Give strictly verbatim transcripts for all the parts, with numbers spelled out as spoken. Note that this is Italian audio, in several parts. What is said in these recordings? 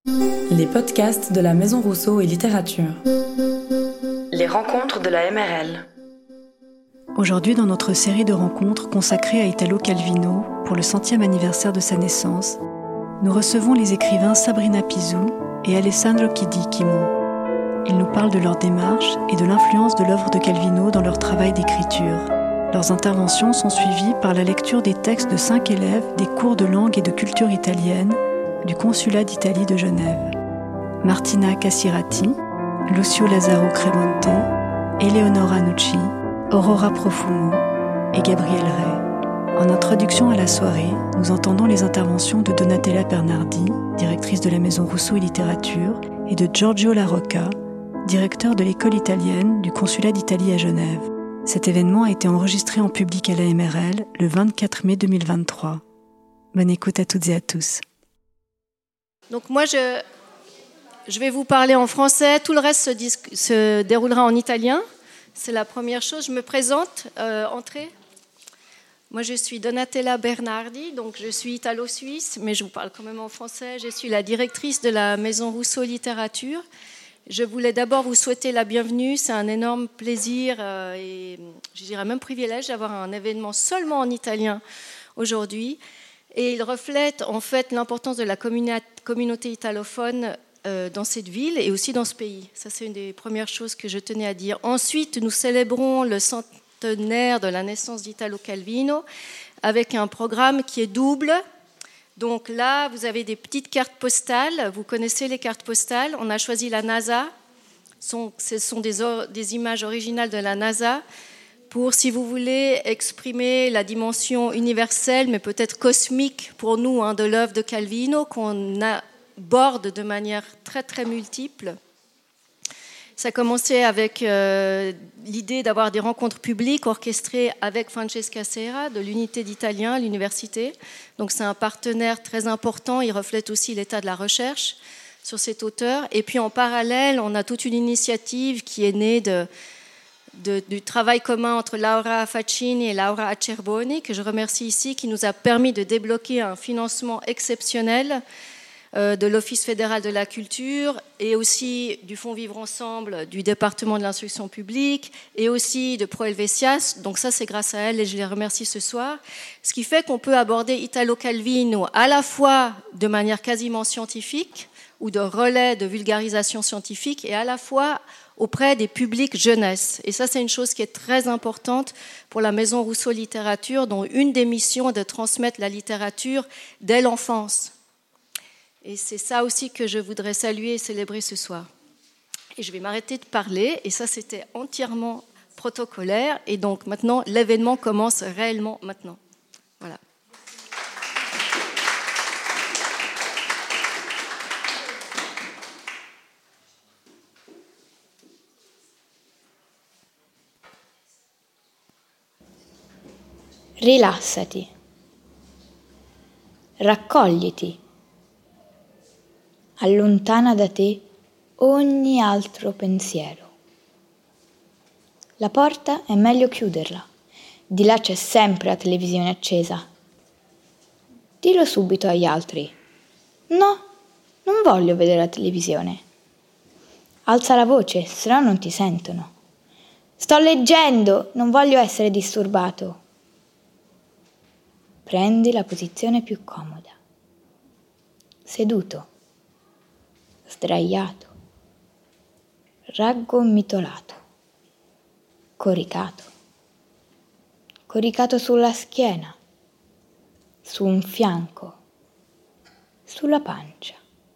Les podcasts de la Maison Rousseau et Littérature. Les rencontres de la M R L. Aujourd'hui, dans notre série de rencontres consacrée à Italo Calvino pour le centième anniversaire de sa naissance, nous recevons les écrivains Sabrina Pisù et Alessandro Chidicchimo. Ils nous parlent de leur démarche et de l'influence de l'œuvre de Calvino dans leur travail d'écriture. Leurs interventions sont suivies par la lecture des textes de cinq élèves des cours de langue et de culture italienne du Consulat d'Italie de Genève. Martina Cassirati, Lucio Lazzaro Cremonte, Eleonora Nucci, Aurora Profumo et Gabriel Rey. En introduction à la soirée, nous entendons les interventions de Donatella Bernardi, directrice de la Maison Rousseau et Littérature, et de Giorgio Larocca, directeur de l'école italienne du Consulat d'Italie à Genève. Cet événement a été enregistré en public à la M R L le vingt-quatre mai deux mille vingt-trois. Bonne écoute à toutes et à tous. Donc moi, je, je vais vous parler en français. Tout le reste se, dis, se déroulera en italien. C'est la première chose. Je me présente. Euh, entrée. Moi, je suis Donatella Bernardi, donc je suis italo-suisse, mais je vous parle quand même en français. Je suis la directrice de la Maison Rousseau Littérature. Je voulais d'abord vous souhaiter la bienvenue. C'est un énorme plaisir euh, et je dirais même privilège d'avoir un événement seulement en italien aujourd'hui. Et il reflète en fait l'importance de la communa- communauté italophone euh, dans cette ville et aussi dans ce pays. Ça, c'est une des premières choses que je tenais à dire. Ensuite, nous célébrons le centenaire de la naissance d'Italo Calvino avec un programme qui est double. Donc là, vous avez des petites cartes postales. Vous connaissez les cartes postales. On a choisi la NASA. Ce sont des, des images originales de la NASA pour, si vous voulez, exprimer la dimension universelle, mais peut-être cosmique pour nous, hein, de l'œuvre de Calvino, qu'on aborde de manière très, très multiple. Ça a commencé avec euh, l'idée d'avoir des rencontres publiques orchestrées avec Francesca Serra de l'Unité d'Italien à l'université. Donc c'est un partenaire très important, il reflète aussi l'état de la recherche sur cet auteur. Et puis en parallèle, on a toute une initiative qui est née de, de, du travail commun entre Laura Faccini et Laura Acerboni, que je remercie ici, qui nous a permis de débloquer un financement exceptionnel de l'Office fédéral de la culture et aussi du Fonds Vivre Ensemble du département de l'instruction publique et aussi de Pro Helvetias. Donc ça, c'est grâce à elle et je les remercie ce soir. Ce qui fait qu'on peut aborder Italo Calvino à la fois de manière quasiment scientifique ou de relais de vulgarisation scientifique et à la fois auprès des publics jeunesse. Et ça, c'est une chose qui est très importante pour la Maison Rousseau Littérature, dont une des missions est de transmettre la littérature dès l'enfance. Et c'est ça aussi que je voudrais saluer et célébrer ce soir. Et je vais m'arrêter de parler, et ça c'était entièrement protocolaire, et donc maintenant l'événement commence réellement maintenant. Voilà. Rilassati. Raccogliti. Allontana da te ogni altro pensiero. La porta è meglio chiuderla, di là c'è sempre la televisione accesa. Dillo subito agli altri. No, non voglio vedere la televisione. Alza la voce, se no non ti sentono. Sto leggendo, non voglio essere disturbato. Prendi la posizione più comoda. Seduto. Sdraiato, raggomitolato, coricato, coricato sulla schiena, su un fianco, sulla pancia,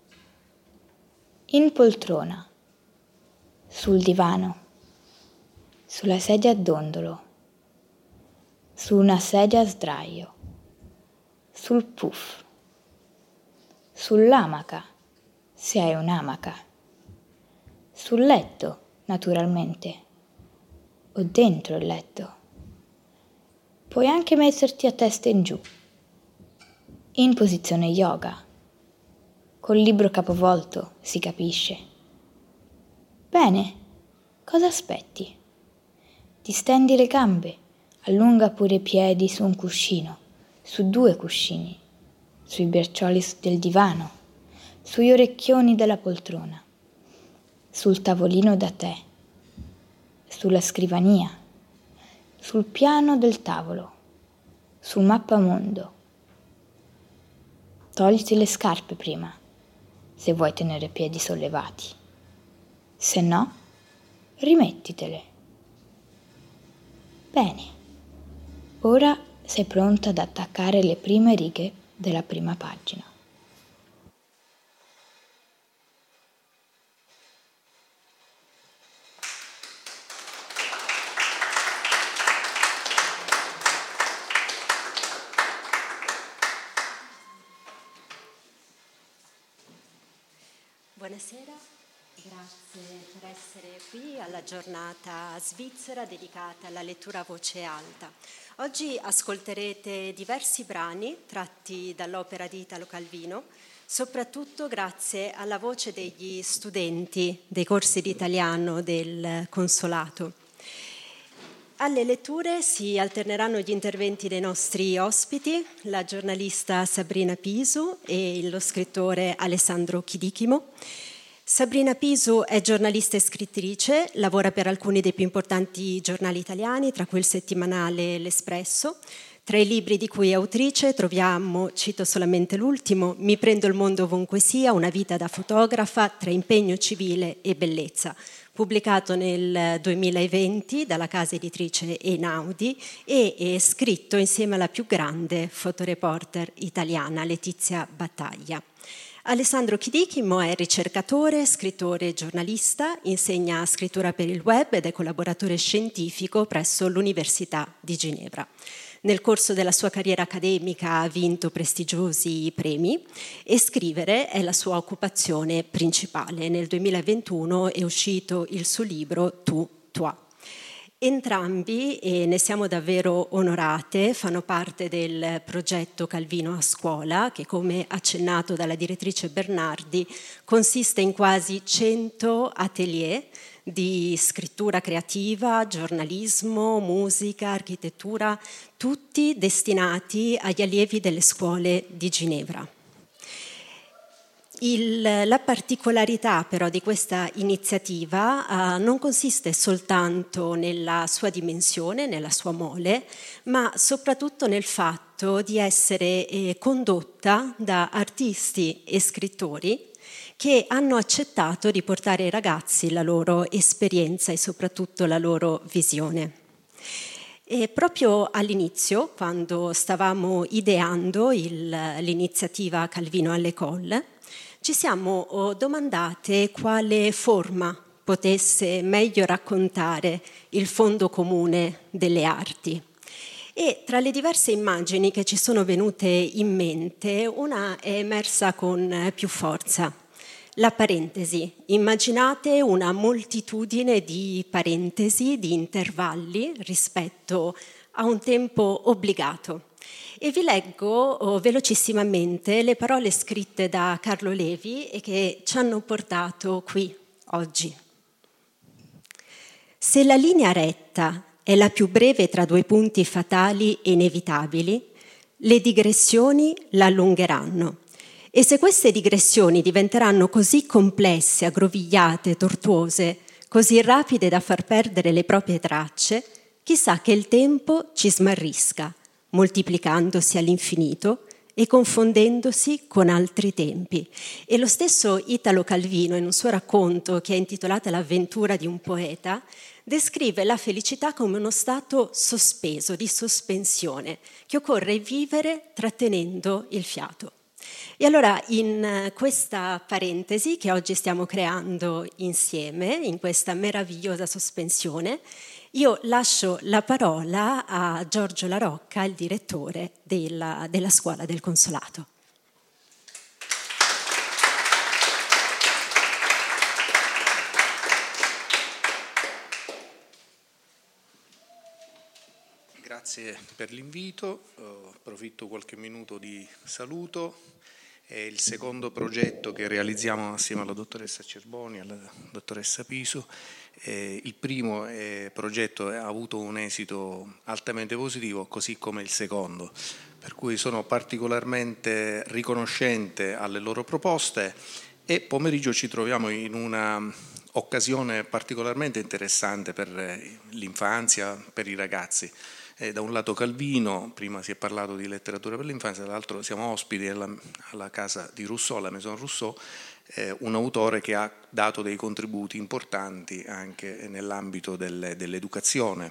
in poltrona, sul divano, sulla sedia a dondolo, su una sedia a sdraio, sul puff, sull'amaca, se hai un'amaca, sul letto, naturalmente, o dentro il letto. Puoi anche metterti a testa in giù, in posizione yoga, col libro capovolto, si capisce. Bene, cosa aspetti? Ti stendi le gambe, allunga pure i piedi su un cuscino, su due cuscini, sui braccioli del divano. sugli orecchioni della poltrona, sul tavolino da tè, sulla scrivania, sul piano del tavolo, sul mappamondo. Togliti le scarpe prima, se vuoi tenere piedi sollevati. Se no, rimettitele. Bene, ora sei pronta ad attaccare le prime righe della prima pagina. Buonasera, grazie per essere qui alla giornata svizzera dedicata alla lettura a voce alta. Oggi ascolterete diversi brani tratti dall'opera di Italo Calvino, soprattutto grazie alla voce degli studenti dei corsi di italiano del Consolato. Alle letture si alterneranno gli interventi dei nostri ospiti, la giornalista Sabrina Pisu e lo scrittore Alessandro Chidichimo. Sabrina Pisu è giornalista e scrittrice, lavora per alcuni dei più importanti giornali italiani, tra cui il settimanale L'Espresso. Tra i libri di cui è autrice troviamo, cito solamente l'ultimo, Mi prendo il mondo ovunque sia, una vita da fotografa tra impegno civile e bellezza, pubblicato nel duemilaventi dalla casa editrice Einaudi e è scritto insieme alla più grande fotoreporter italiana, Letizia Battaglia. Alessandro Chidichimo è ricercatore, scrittore e giornalista, insegna scrittura per il web ed è collaboratore scientifico presso l'Università di Ginevra. Nel corso della sua carriera accademica ha vinto prestigiosi premi e scrivere è la sua occupazione principale. Nel duemilaventuno è uscito il suo libro Tu, Toi. Entrambi, e ne siamo davvero onorate, fanno parte del progetto Calvino a scuola, che come accennato dalla direttrice Bernardi consiste in quasi cento atelier di scrittura creativa, giornalismo, musica, architettura, tutti destinati agli allievi delle scuole di Ginevra. Il, la particolarità però di questa iniziativa uh, non consiste soltanto nella sua dimensione, nella sua mole, ma soprattutto nel fatto di essere eh, condotta da artisti e scrittori che hanno accettato di portare ai ragazzi la loro esperienza e soprattutto la loro visione. E proprio all'inizio, quando stavamo ideando il, l'iniziativa Calvino all'École, ci siamo domandate quale forma potesse meglio raccontare il fondo comune delle arti. E tra le diverse immagini che ci sono venute in mente, una è emersa con più forza. La parentesi. Immaginate una moltitudine di parentesi, di intervalli rispetto a un tempo obbligato. E vi leggo oh, velocissimamente le parole scritte da Carlo Levi e che ci hanno portato qui oggi. Se la linea retta è la più breve tra due punti fatali e inevitabili, le digressioni la allungheranno. E se queste digressioni diventeranno così complesse, aggrovigliate, tortuose, così rapide da far perdere le proprie tracce, chissà che il tempo ci smarrisca, moltiplicandosi all'infinito e confondendosi con altri tempi. E lo stesso Italo Calvino, in un suo racconto che è intitolato L'avventura di un poeta, descrive la felicità come uno stato sospeso, di sospensione, che occorre vivere trattenendo il fiato. E allora in questa parentesi che oggi stiamo creando insieme, in questa meravigliosa sospensione, io lascio la parola a Giorgio La Rocca, il direttore della, della scuola del Consolato. Grazie per l'invito, uh, approfitto qualche minuto di saluto è il secondo progetto che realizziamo assieme alla dottoressa Cerboni e alla dottoressa Piso. Eh, il primo eh, progetto ha avuto un esito altamente positivo, così come il secondo, per cui sono particolarmente riconoscente alle loro proposte e pomeriggio ci troviamo in una occasione particolarmente interessante per l'infanzia, per i ragazzi. Eh, da un lato Calvino, prima si è parlato di letteratura per l'infanzia, dall'altro siamo ospiti alla, alla casa di Rousseau, alla Maison Rousseau, eh, un autore che ha dato dei contributi importanti anche nell'ambito del, dell'educazione.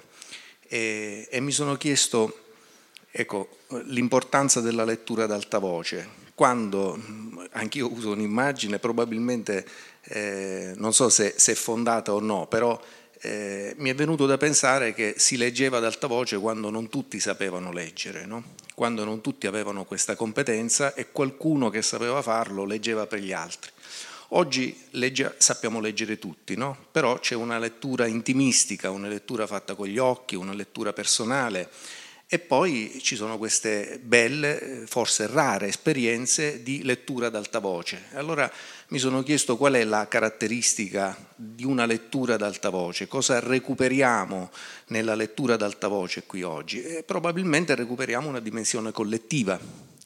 E, e mi sono chiesto, ecco, l'importanza della lettura ad alta voce. Quando, anch'io uso un'immagine, probabilmente eh, non so se, se è fondata o no, però eh, mi è venuto da pensare che si leggeva ad alta voce quando non tutti sapevano leggere, no? Quando non tutti avevano questa competenza e qualcuno che sapeva farlo leggeva per gli altri. Oggi legge, sappiamo leggere tutti, no? Però c'è una lettura intimistica, una lettura fatta con gli occhi, una lettura personale. E poi ci sono queste belle, forse rare esperienze di lettura ad alta voce. Allora mi sono chiesto qual è la caratteristica di una lettura ad alta voce, cosa recuperiamo nella lettura ad alta voce qui oggi. E probabilmente recuperiamo una dimensione collettiva.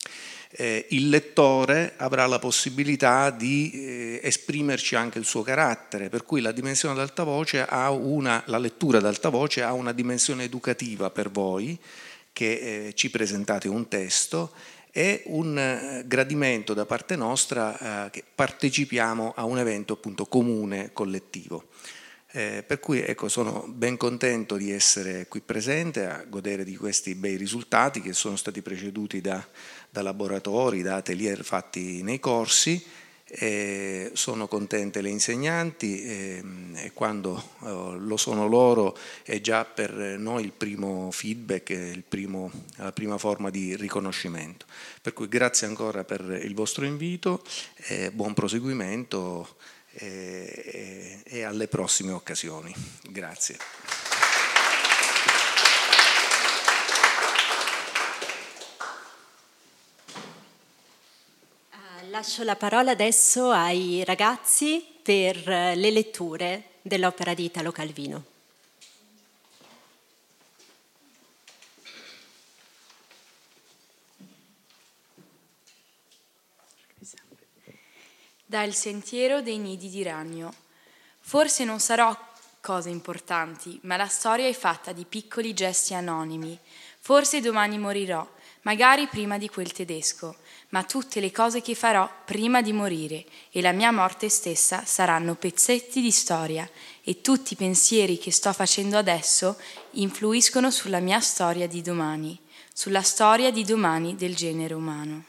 Eh, il lettore avrà la possibilità di eh, esprimerci anche il suo carattere, per cui la dimensione ad alta voce ha una, la lettura ad alta voce ha una dimensione educativa per voi, che eh, ci presentate un testo, e un eh, gradimento da parte nostra eh, che partecipiamo a un evento appunto comune, collettivo. Eh, per cui ecco, sono ben contento di essere qui presente a godere di questi bei risultati che sono stati preceduti da, da laboratori, da atelier fatti nei corsi. Eh, sono contente le insegnanti eh, e quando eh, lo sono loro è già per noi il primo feedback, il primo, la prima forma di riconoscimento. Per cui grazie ancora per il vostro invito, eh, buon proseguimento e, e alle prossime occasioni. Grazie. Lascio la parola adesso ai ragazzi per le letture dell'opera di Italo Calvino. Da Il sentiero dei nidi di ragno. Forse non sarò cose importanti, ma la storia è fatta di piccoli gesti anonimi. Forse domani morirò, magari prima di quel tedesco, ma tutte le cose che farò prima di morire e la mia morte stessa saranno pezzetti di storia e tutti i pensieri che sto facendo adesso influiscono sulla mia storia di domani, sulla storia di domani del genere umano.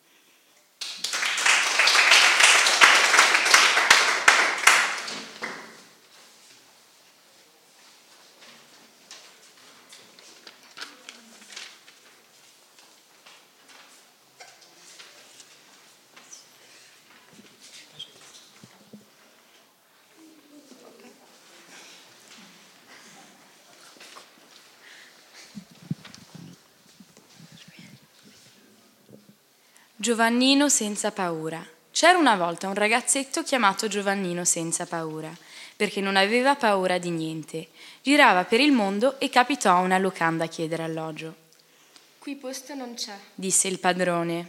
Giovannino senza paura. C'era una volta un ragazzetto chiamato Giovannino senza paura, perché non aveva paura di niente. Girava per il mondo e capitò a una locanda a chiedere alloggio. Qui posto non c'è, disse il padrone.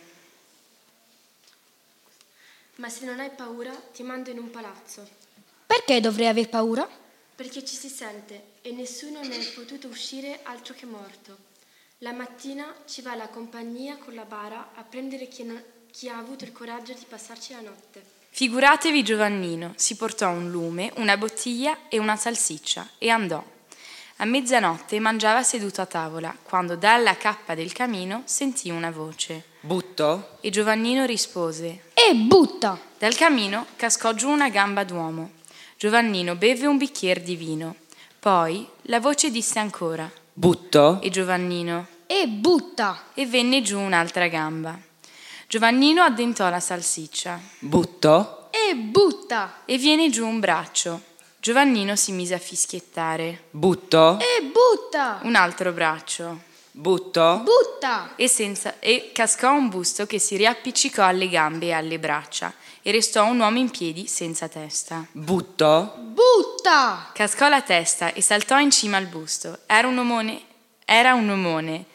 Ma se non hai paura ti mando in un palazzo. Perché dovrei aver paura? Perché ci si sente e nessuno ne è potuto uscire altro che morto. La mattina ci va la compagnia con la bara a prendere chi, non, chi ha avuto il coraggio di passarci la notte. Figuratevi Giovannino, si portò un lume, una bottiglia e una salsiccia e andò. A mezzanotte mangiava seduto a tavola, quando dalla cappa del camino sentì una voce. Butto? E Giovannino rispose. E butta! Dal camino cascò giù una gamba d'uomo. Giovannino beve un bicchiere di vino. Poi la voce disse ancora. Butto? E Giovannino. E butta! E venne giù un'altra gamba. Giovannino addentò la salsiccia. Butto? E butta! E viene giù un braccio. Giovannino si mise a fischiettare. Butto? E butta! Un altro braccio. Buttò. Butta. E, senza, e cascò un busto che si riappiccicò alle gambe e alle braccia e restò un uomo in piedi senza testa. Buttò. Butta. Cascò la testa e saltò in cima al busto. Era un omone, era un omone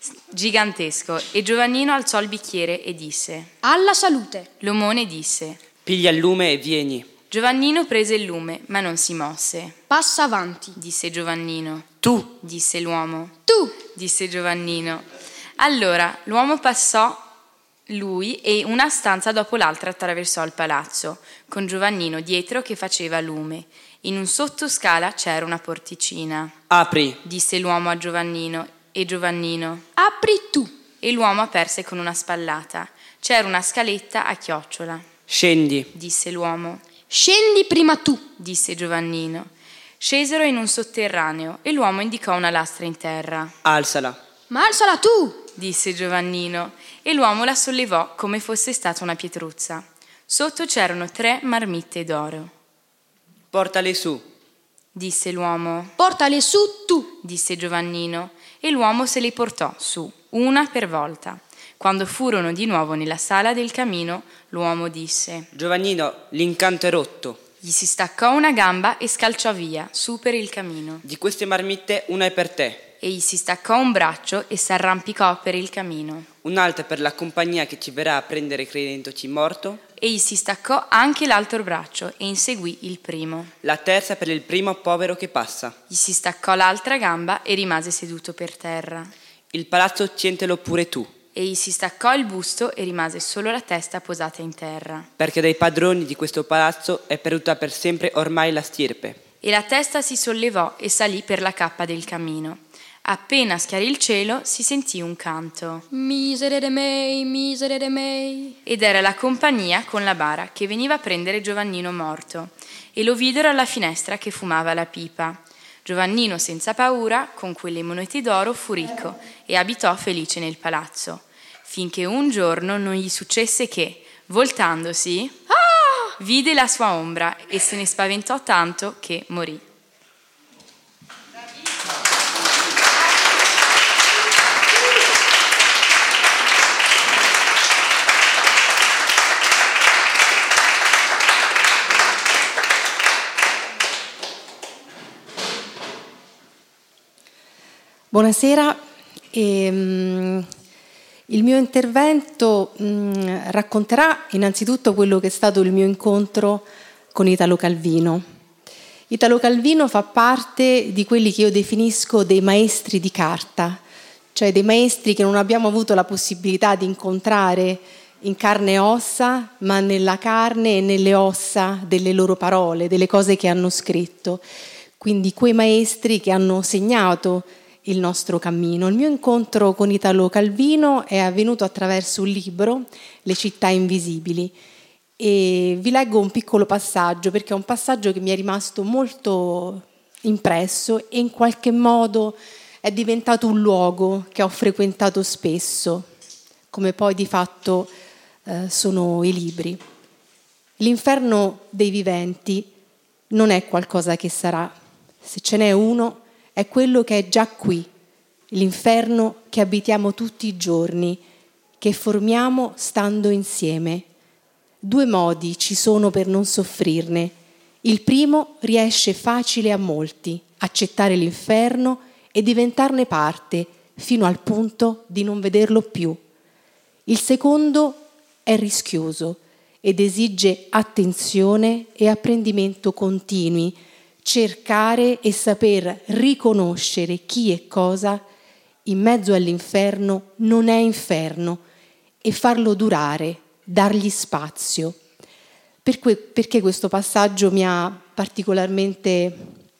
gigantesco e Giovannino alzò il bicchiere e disse: Alla salute. L'omone disse: Piglia il lume e vieni. Giovannino prese il lume, ma non si mosse. Passa avanti. Disse Giovannino. Tu. Disse l'uomo. Tu. Disse Giovannino. Allora l'uomo passò lui e una stanza dopo l'altra attraversò il palazzo, con Giovannino dietro che faceva lume. In un sottoscala c'era una porticina. Apri. Disse l'uomo a Giovannino, e Giovannino. Apri tu. E l'uomo aperse con una spallata. C'era una scaletta a chiocciola. Scendi. Disse l'uomo. Scendi prima tu. Disse Giovannino. Scesero in un sotterraneo e l'uomo indicò una lastra in terra. Alzala. Ma alzala tu. Disse Giovannino, e l'uomo la sollevò come fosse stata una pietruzza. Sotto c'erano tre marmitte d'oro. Portale su. Disse l'uomo. Portale su tu. Disse Giovannino, e l'uomo se le portò su, una per volta. Quando furono di nuovo nella sala del camino, l'uomo disse: Giovannino, l'incanto è rotto. Gli si staccò una gamba e scalciò via, su per il camino. Di queste marmitte una è per te. E gli si staccò un braccio e s'arrampicò per il camino. Un'altra per la compagnia che ci verrà a prendere credendoci morto. E gli si staccò anche l'altro braccio e inseguì il primo. La terza per il primo povero che passa. Gli si staccò l'altra gamba e rimase seduto per terra. Il palazzo cientelo pure tu. E gli si staccò il busto e rimase solo la testa posata in terra. Perché dai padroni di questo palazzo è perduta per sempre ormai la stirpe. E la testa si sollevò e salì per la cappa del camino. Appena schiarì il cielo si sentì un canto. Miserere mei, miserere mei. Ed era la compagnia con la bara che veniva a prendere Giovannino morto. E lo videro alla finestra che fumava la pipa. Giovannino senza paura, con quelle monete d'oro, fu ricco e abitò felice nel palazzo. Finché un giorno non gli successe che, voltandosi, ah! vide la sua ombra e se ne spaventò tanto che morì. Buonasera. E, um, il mio intervento um, racconterà innanzitutto quello che è stato il mio incontro con Italo Calvino. Italo Calvino fa parte di quelli che io definisco dei maestri di carta, cioè dei maestri che non abbiamo avuto la possibilità di incontrare in carne e ossa, ma nella carne e nelle ossa delle loro parole, delle cose che hanno scritto. Quindi quei maestri che hanno segnato il nostro cammino. Il mio incontro con Italo Calvino è avvenuto attraverso un libro, Le città invisibili, e vi leggo un piccolo passaggio perché è un passaggio che mi è rimasto molto impresso e in qualche modo è diventato un luogo che ho frequentato spesso, come poi di fatto eh, sono i libri. L'inferno dei viventi non è qualcosa che sarà, se ce n'è uno è quello che è già qui, l'inferno che abitiamo tutti i giorni, che formiamo stando insieme. Due modi ci sono per non soffrirne. Il primo riesce facile a molti, accettare l'inferno e diventarne parte, fino al punto di non vederlo più. Il secondo è rischioso ed esige attenzione e apprendimento continui, cercare e saper riconoscere chi e cosa in mezzo all'inferno non è inferno e farlo durare, dargli spazio. Perché, perché questo passaggio mi ha particolarmente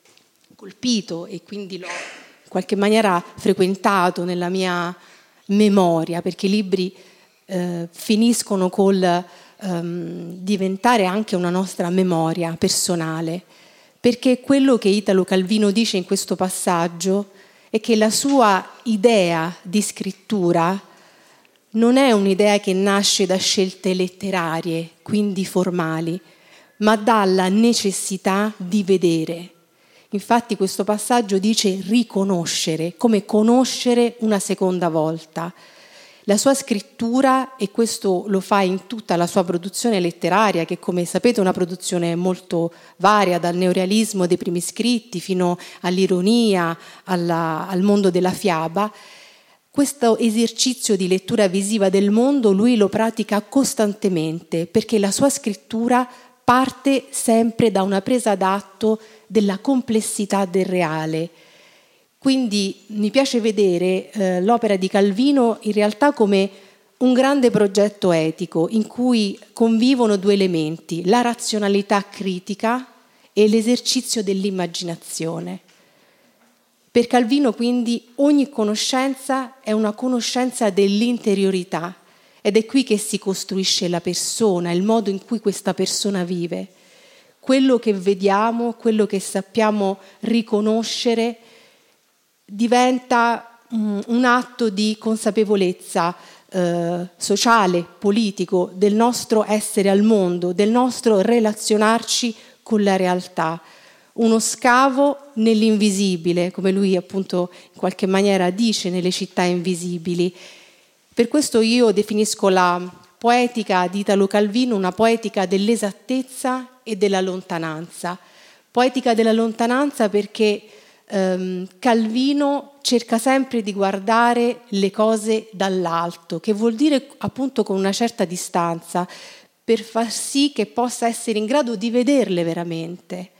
colpito e quindi l'ho in qualche maniera frequentato nella mia memoria, perché i libri eh, finiscono col ehm, diventare anche una nostra memoria personale. Perché quello che Italo Calvino dice in questo passaggio è che la sua idea di scrittura non è un'idea che nasce da scelte letterarie, quindi formali, ma dalla necessità di vedere. Infatti questo passaggio dice riconoscere, come conoscere una seconda volta. La sua scrittura, e questo lo fa in tutta la sua produzione letteraria, che come sapete è una produzione molto varia, dal neorealismo dei primi scritti fino all'ironia, alla, al mondo della fiaba, questo esercizio di lettura visiva del mondo lui lo pratica costantemente, perché la sua scrittura parte sempre da una presa d'atto della complessità del reale. Quindi mi piace vedere eh, l'opera di Calvino in realtà come un grande progetto etico in cui convivono due elementi, la razionalità critica e l'esercizio dell'immaginazione. Per Calvino quindi ogni conoscenza è una conoscenza dell'interiorità ed è qui che si costruisce la persona, il modo in cui questa persona vive. Quello che vediamo, quello che sappiamo riconoscere diventa um, un atto di consapevolezza eh, sociale, politico, del nostro essere al mondo, del nostro relazionarci con la realtà. Uno scavo nell'invisibile, come lui appunto in qualche maniera dice nelle città invisibili. Per questo io definisco la poetica di Italo Calvino una poetica dell'esattezza e della lontananza. Poetica della lontananza perché ehm, Calvino cerca sempre di guardare le cose dall'alto, che vuol dire appunto con una certa distanza, per far sì che possa essere in grado di vederle veramente.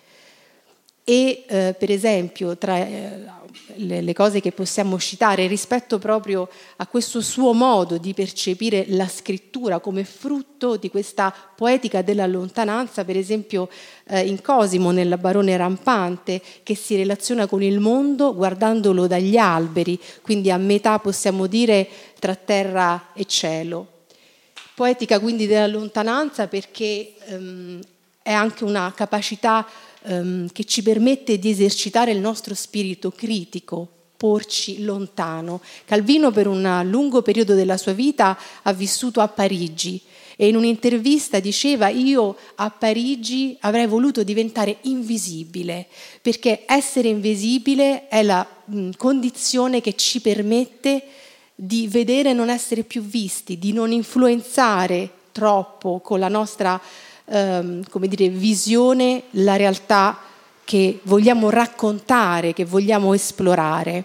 E eh, per esempio tra eh, le, le cose che possiamo citare rispetto proprio a questo suo modo di percepire la scrittura come frutto di questa poetica della lontananza, per esempio eh, in Cosimo nel Barone Rampante, che si relaziona con il mondo guardandolo dagli alberi, quindi a metà possiamo dire tra terra e cielo. Poetica quindi della lontananza perché ehm, è anche una capacità che ci permette di esercitare il nostro spirito critico, porci lontano. Calvino per un lungo periodo della sua vita ha vissuto a Parigi e in un'intervista diceva: io a Parigi avrei voluto diventare invisibile, perché essere invisibile è la mh, condizione che ci permette di vedere e non essere più visti, di non influenzare troppo con la nostra Um, come dire, visione, la realtà che vogliamo raccontare, che vogliamo esplorare.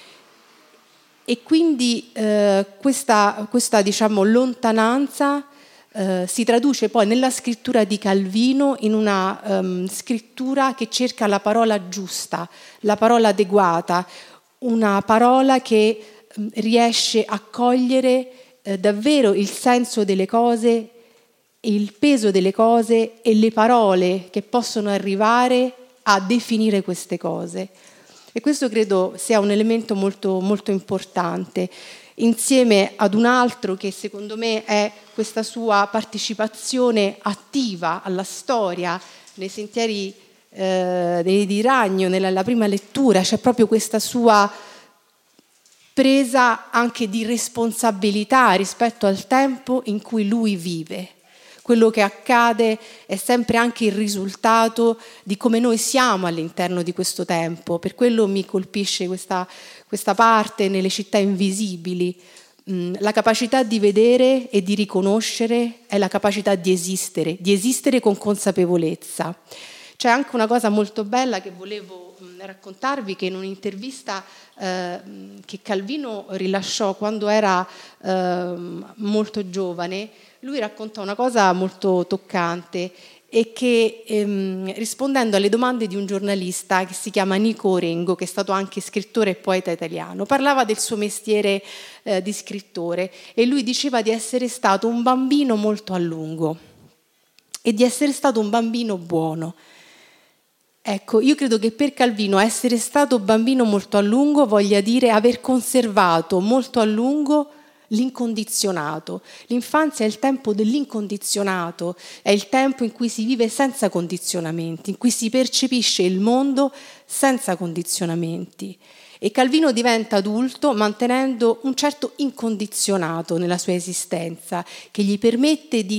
E quindi eh, questa, questa diciamo, lontananza eh, si traduce poi nella scrittura di Calvino in una um, scrittura che cerca la parola giusta, la parola adeguata, una parola che um, riesce a cogliere eh, davvero il senso delle cose, il peso delle cose e le parole che possono arrivare a definire queste cose. E questo credo sia un elemento molto, molto importante, insieme ad un altro che secondo me è questa sua partecipazione attiva alla storia, nei sentieri eh, di Ragno, nella, nella prima lettura, c'è proprio questa sua presa anche di responsabilità rispetto al tempo in cui lui vive. Quello che accade è sempre anche il risultato di come noi siamo all'interno di questo tempo. Per quello mi colpisce questa, questa parte nelle città invisibili. La capacità di vedere e di riconoscere è la capacità di esistere, di esistere con consapevolezza. C'è anche una cosa molto bella che volevo raccontarvi, che in un'intervista eh, che Calvino rilasciò quando era eh, molto giovane, lui racconta una cosa molto toccante e che ehm, rispondendo alle domande di un giornalista che si chiama Nico Orengo, che è stato anche scrittore e poeta italiano, parlava del suo mestiere eh, di scrittore e lui diceva di essere stato un bambino molto a lungo e di essere stato un bambino buono. Ecco, io credo che per Calvino essere stato bambino molto a lungo voglia dire aver conservato molto a lungo l'incondizionato. L'infanzia è il tempo dell'incondizionato, è il tempo in cui si vive senza condizionamenti, in cui si percepisce il mondo senza condizionamenti. E Calvino diventa adulto mantenendo un certo incondizionato nella sua esistenza, che gli permette di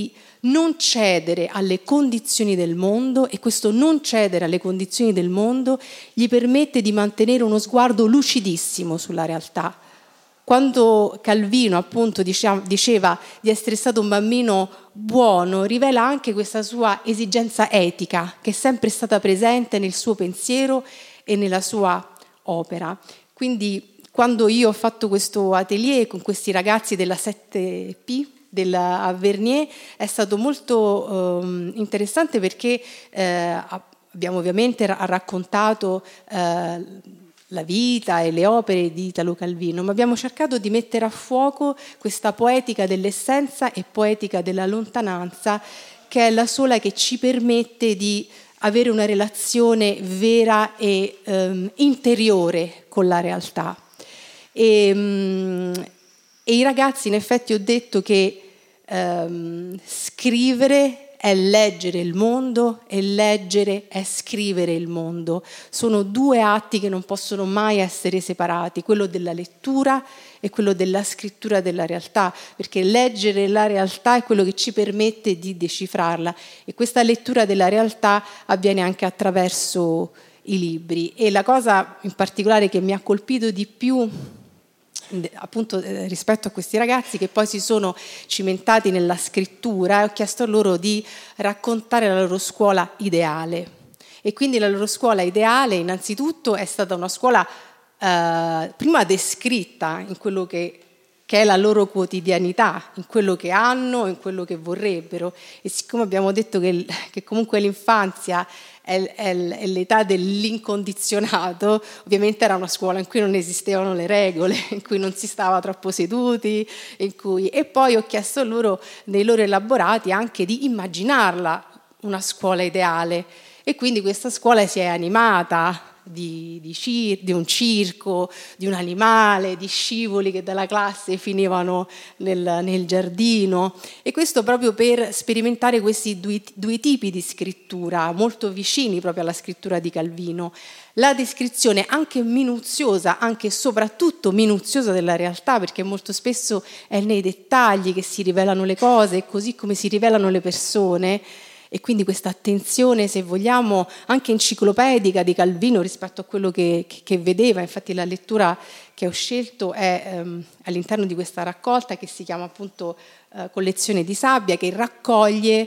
non cedere alle condizioni del mondo, e questo non cedere alle condizioni del mondo gli permette di mantenere uno sguardo lucidissimo sulla realtà. Quando Calvino appunto diceva di essere stato un bambino buono, rivela anche questa sua esigenza etica che è sempre stata presente nel suo pensiero e nella sua opera. Quindi quando io ho fatto questo atelier con questi ragazzi della sette P della Vernier è stato molto eh, interessante perché eh, abbiamo ovviamente raccontato eh, la vita e le opere di Italo Calvino, ma abbiamo cercato di mettere a fuoco questa poetica dell'essenza e poetica della lontananza, che è la sola che ci permette di avere una relazione vera e um, interiore con la realtà. E, um, e i ragazzi, in effetti, ho detto che um, scrivere è leggere il mondo e leggere è scrivere il mondo. Sono due atti che non possono mai essere separati, quello della lettura e quello della scrittura della realtà, perché leggere la realtà è quello che ci permette di decifrarla, e questa lettura della realtà avviene anche attraverso i libri. E la cosa in particolare che mi ha colpito di più appunto eh, rispetto a questi ragazzi che poi si sono cimentati nella scrittura, e ho chiesto a loro di raccontare la loro scuola ideale. E quindi la loro scuola ideale innanzitutto è stata una scuola eh, prima descritta in quello che, che è la loro quotidianità, in quello che hanno, in quello che vorrebbero. E siccome abbiamo detto che, che comunque l'infanzia È, è, è l'età dell'incondizionato, ovviamente era una scuola in cui non esistevano le regole, in cui non si stava troppo seduti, in cui... e poi ho chiesto loro nei loro elaborati anche di immaginarla una scuola ideale, e quindi questa scuola si è animata di, di, cir- di un circo, di un animale, di scivoli che dalla classe finivano nel, nel giardino, e questo proprio per sperimentare questi due, due tipi di scrittura molto vicini proprio alla scrittura di Calvino: la descrizione anche minuziosa, anche e soprattutto minuziosa della realtà, perché molto spesso è nei dettagli che si rivelano le cose, così come si rivelano le persone. E quindi questa attenzione, se vogliamo, anche enciclopedica di Calvino rispetto a quello che, che, che vedeva. Infatti la lettura che ho scelto è ehm, all'interno di questa raccolta che si chiama appunto eh, Collezione di sabbia, che raccoglie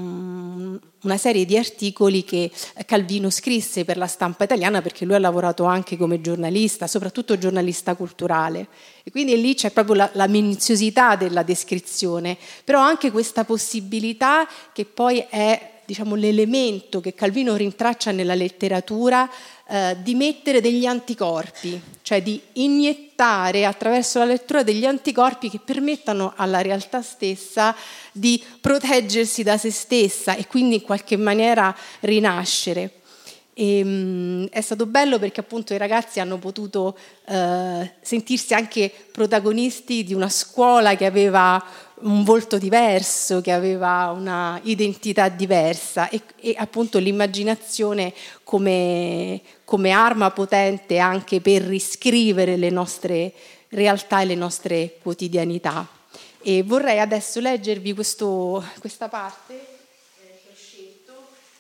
um, una serie di articoli che Calvino scrisse per la stampa italiana, perché lui ha lavorato anche come giornalista, soprattutto giornalista culturale. E quindi lì c'è proprio la, la minuziosità della descrizione, però anche questa possibilità che poi è, diciamo, l'elemento che Calvino rintraccia nella letteratura, eh, di mettere degli anticorpi, cioè di iniettare attraverso la lettura degli anticorpi che permettano alla realtà stessa di proteggersi da se stessa e quindi in qualche maniera rinascere. E, um, è stato bello perché appunto i ragazzi hanno potuto uh, sentirsi anche protagonisti di una scuola che aveva un volto diverso, che aveva una identità diversa, e, e appunto l'immaginazione come, come arma potente anche per riscrivere le nostre realtà e le nostre quotidianità. E vorrei adesso leggervi questo, questa parte eh, che ho scelto,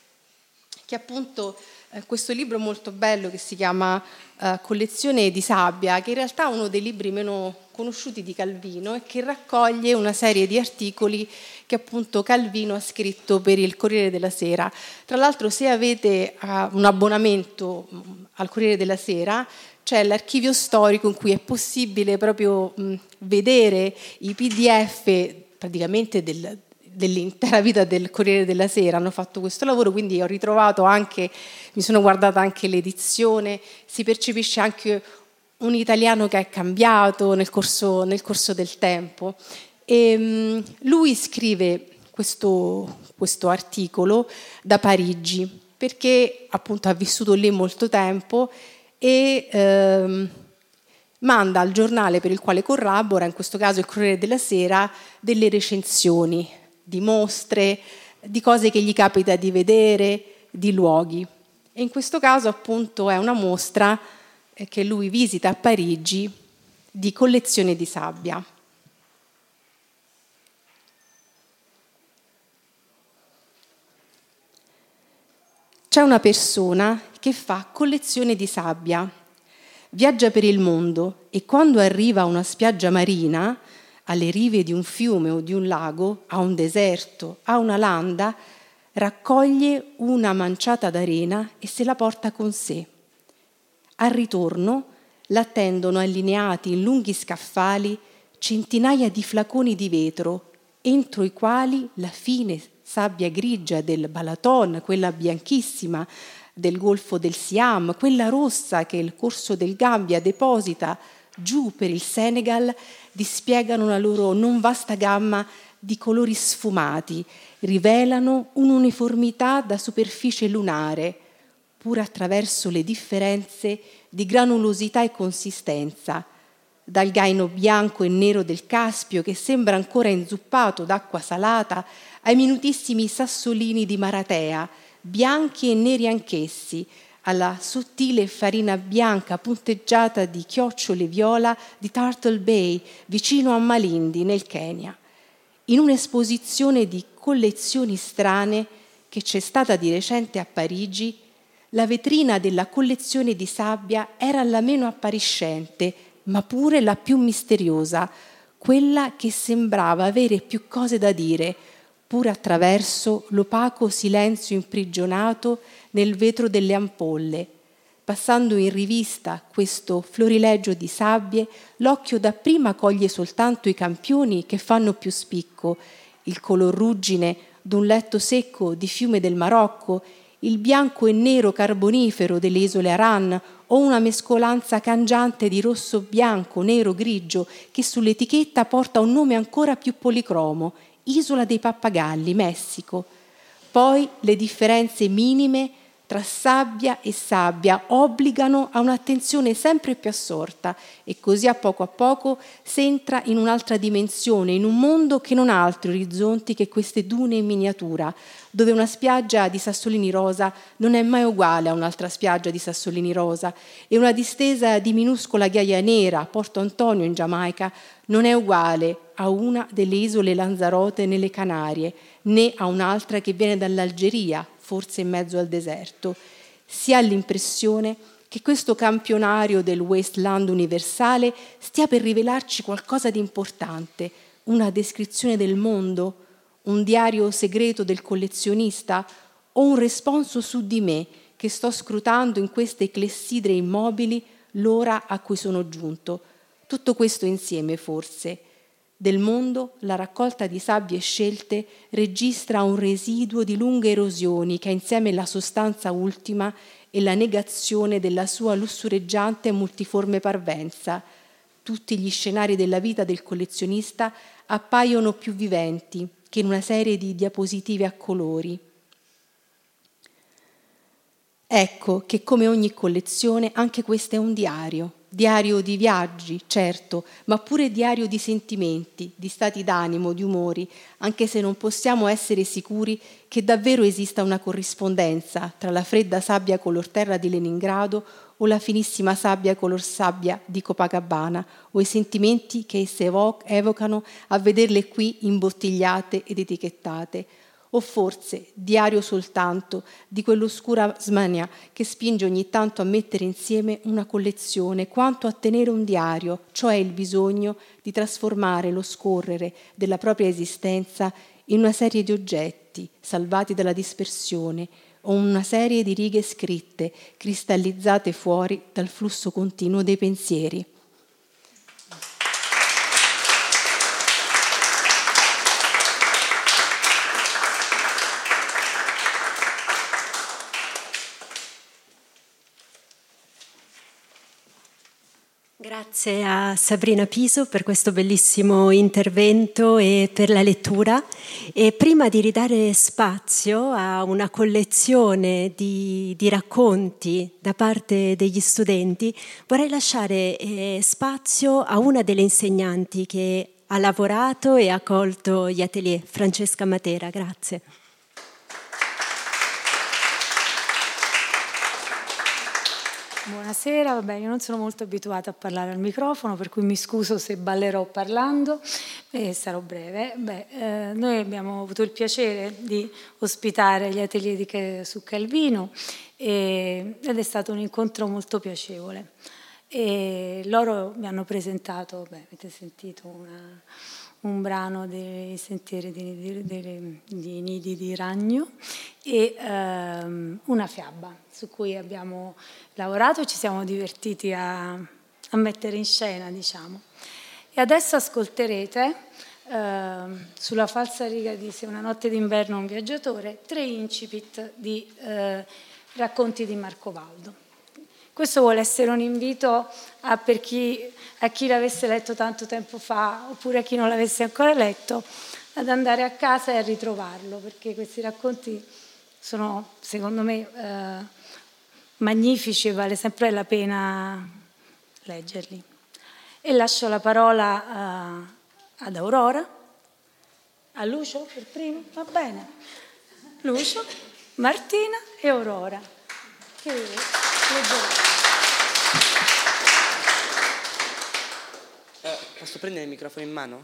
che appunto questo libro molto bello che si chiama uh, Collezione di sabbia, che in realtà è uno dei libri meno conosciuti di Calvino e che raccoglie una serie di articoli che appunto Calvino ha scritto per il Corriere della Sera. Tra l'altro, se avete uh, un abbonamento al Corriere della Sera, c'è l'archivio storico in cui è possibile proprio mh, vedere i P D F praticamente del dell'intera vita del Corriere della Sera. Hanno fatto questo lavoro, quindi ho ritrovato anche, mi sono guardata anche l'edizione, si percepisce anche un italiano che è cambiato nel corso, nel corso del tempo. E, um, lui scrive questo, questo articolo da Parigi, perché appunto ha vissuto lì molto tempo e um, manda al giornale per il quale collabora, in questo caso il Corriere della Sera, delle recensioni di mostre, di cose che gli capita di vedere, di luoghi. E in questo caso appunto è una mostra che lui visita a Parigi di collezione di sabbia. C'è una persona che fa collezione di sabbia, viaggia per il mondo e quando arriva a una spiaggia marina, alle rive di un fiume o di un lago, a un deserto, a una landa, raccoglie una manciata d'arena e se la porta con sé. Al ritorno l'attendono allineati in lunghi scaffali centinaia di flaconi di vetro, entro i quali la fine sabbia grigia del Balaton, quella bianchissima del Golfo del Siam, quella rossa che il corso del Gambia deposita giù per il Senegal, dispiegano la loro non vasta gamma di colori sfumati, rivelano un'uniformità da superficie lunare, pur attraverso le differenze di granulosità e consistenza, dal gaino bianco e nero del Caspio che sembra ancora inzuppato d'acqua salata, ai minutissimi sassolini di Maratea, bianchi e neri anch'essi, alla sottile farina bianca punteggiata di chiocciole viola di Turtle Bay, vicino a Malindi, nel Kenya. In un'esposizione di collezioni strane che c'è stata di recente a Parigi, la vetrina della collezione di sabbia era la meno appariscente, ma pure la più misteriosa, quella che sembrava avere più cose da dire, pur attraverso l'opaco silenzio imprigionato nel vetro delle ampolle. Passando in rivista questo florilegio di sabbie, l'occhio dapprima coglie soltanto i campioni che fanno più spicco, il color ruggine d'un letto secco di fiume del Marocco, il bianco e nero carbonifero delle isole Aran o una mescolanza cangiante di rosso, bianco, nero, grigio che sull'etichetta porta un nome ancora più policromo, Isola dei Pappagalli, Messico. Poi le differenze minime tra sabbia e sabbia obbligano a un'attenzione sempre più assorta e così a poco a poco si entra in un'altra dimensione, in un mondo che non ha altri orizzonti che queste dune in miniatura, dove una spiaggia di sassolini rosa non è mai uguale a un'altra spiaggia di sassolini rosa e una distesa di minuscola ghiaia nera a Porto Antonio in Giamaica non è uguale a una delle isole Lanzarote nelle Canarie, né a un'altra che viene dall'Algeria, forse in mezzo al deserto. Si ha l'impressione che questo campionario del wasteland universale stia per rivelarci qualcosa di importante, una descrizione del mondo, un diario segreto del collezionista o un responso su di me che sto scrutando in queste clessidre immobili l'ora a cui sono giunto. Tutto questo insieme forse. Del mondo la raccolta di sabbie scelte registra un residuo di lunghe erosioni che ha insieme la sostanza ultima e la negazione della sua lussureggiante e multiforme parvenza. Tutti gli scenari della vita del collezionista appaiono più viventi che in una serie di diapositive a colori. Ecco che come ogni collezione anche questo è un diario. Diario di viaggi, certo, ma pure diario di sentimenti, di stati d'animo, di umori, anche se non possiamo essere sicuri che davvero esista una corrispondenza tra la fredda sabbia color terra di Leningrado o la finissima sabbia color sabbia di Copacabana o i sentimenti che esse evo- evocano a vederle qui imbottigliate ed etichettate. O forse diario soltanto di quell'oscura smania che spinge ogni tanto a mettere insieme una collezione quanto a tenere un diario, cioè il bisogno di trasformare lo scorrere della propria esistenza in una serie di oggetti salvati dalla dispersione o una serie di righe scritte cristallizzate fuori dal flusso continuo dei pensieri. Grazie a Sabrina Piso per questo bellissimo intervento e per la lettura. E prima di ridare spazio a una collezione di, di racconti da parte degli studenti, vorrei lasciare eh, spazio a una delle insegnanti che ha lavorato e ha accolto gli atelier, Francesca Matera. Grazie. Buonasera, vabbè, io non sono molto abituata a parlare al microfono, per cui mi scuso se ballerò parlando, e sarò breve. Beh, eh, noi abbiamo avuto il piacere di ospitare gli atelier di, su Calvino e, ed è stato un incontro molto piacevole. E loro mi hanno presentato, beh, avete sentito una, un brano dei Sentieri di, di, di, di Nidi di Ragno e ehm, una fiaba su cui abbiamo lavorato e ci siamo divertiti a, a mettere in scena, diciamo. E adesso ascolterete eh, sulla falsariga di Se una notte d'inverno un viaggiatore tre incipit di eh, racconti di Marco Valdo. Questo vuole essere un invito a, per chi, a chi l'avesse letto tanto tempo fa oppure a chi non l'avesse ancora letto ad andare a casa e a ritrovarlo, perché questi racconti sono secondo me eh, magnifici e vale sempre la pena leggerli. E lascio la parola a, ad Aurora, a Lucio per primo, va bene? Lucio, Martina e Aurora. Che leggerò. Eh, posso prendere il microfono in mano?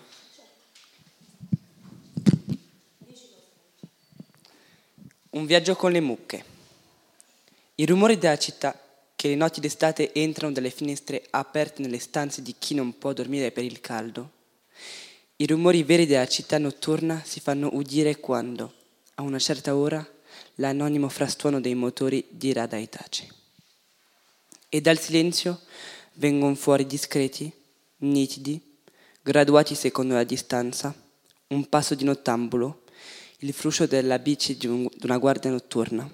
Un viaggio con le mucche. I rumori della città che le notti d'estate entrano dalle finestre aperte nelle stanze di chi non può dormire per il caldo. I rumori veri della città notturna si fanno udire quando, a una certa ora, l'anonimo frastuono dei motori dirà dai taci. E dal silenzio vengono fuori discreti, nitidi, graduati secondo la distanza, un passo di nottambulo, il fruscio della bici di, un, di una guardia notturna,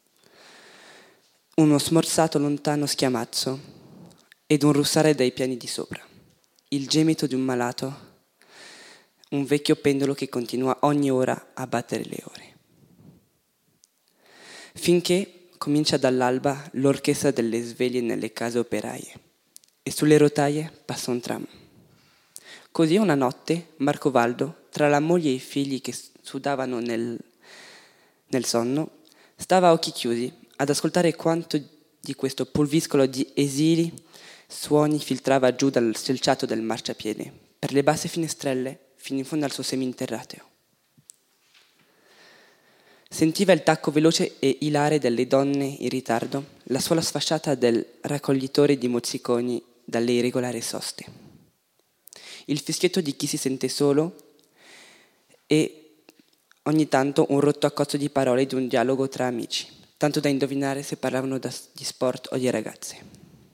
uno smorzato lontano schiamazzo ed un russare dai piani di sopra, il gemito di un malato, un vecchio pendolo che continua ogni ora a battere le ore. Finché comincia dall'alba l'orchestra delle sveglie nelle case operaie e sulle rotaie passa un tram. Così una notte Marco Valdo, tra la moglie e i figli che sudavano nel, nel sonno, stava a occhi chiusi ad ascoltare quanto di questo pulviscolo di esili suoni filtrava giù dal selciato del marciapiede, per le basse finestrelle, fino in fondo al suo seminterrateo. Sentiva il tacco veloce e ilare delle donne in ritardo, la suola sfasciata del raccoglitore di mozziconi dalle irregolari soste, il fischietto di chi si sente solo e ogni tanto un rotto accozzo di parole di un dialogo tra amici, tanto da indovinare se parlavano di sport o di ragazze.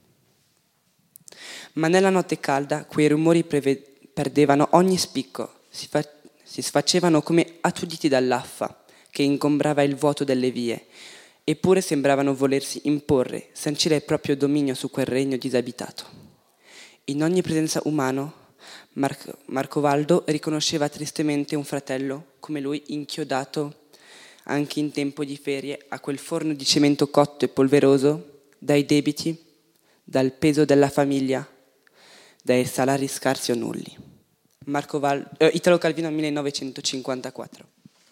Ma nella notte calda quei rumori preve- perdevano ogni spicco, si, fa- si sfacevano come attuditi dall'affa che ingombrava il vuoto delle vie, eppure sembravano volersi imporre, sancire il proprio dominio su quel regno disabitato. In ogni presenza umano, Marco, Marco Valdo riconosceva tristemente un fratello come lui inchiodato anche in tempo di ferie a quel forno di cemento cotto e polveroso dai debiti, dal peso della famiglia, dai salari scarsi o nulli. Marco Valdo, eh, Italo Calvino millenovecentocinquantaquattro.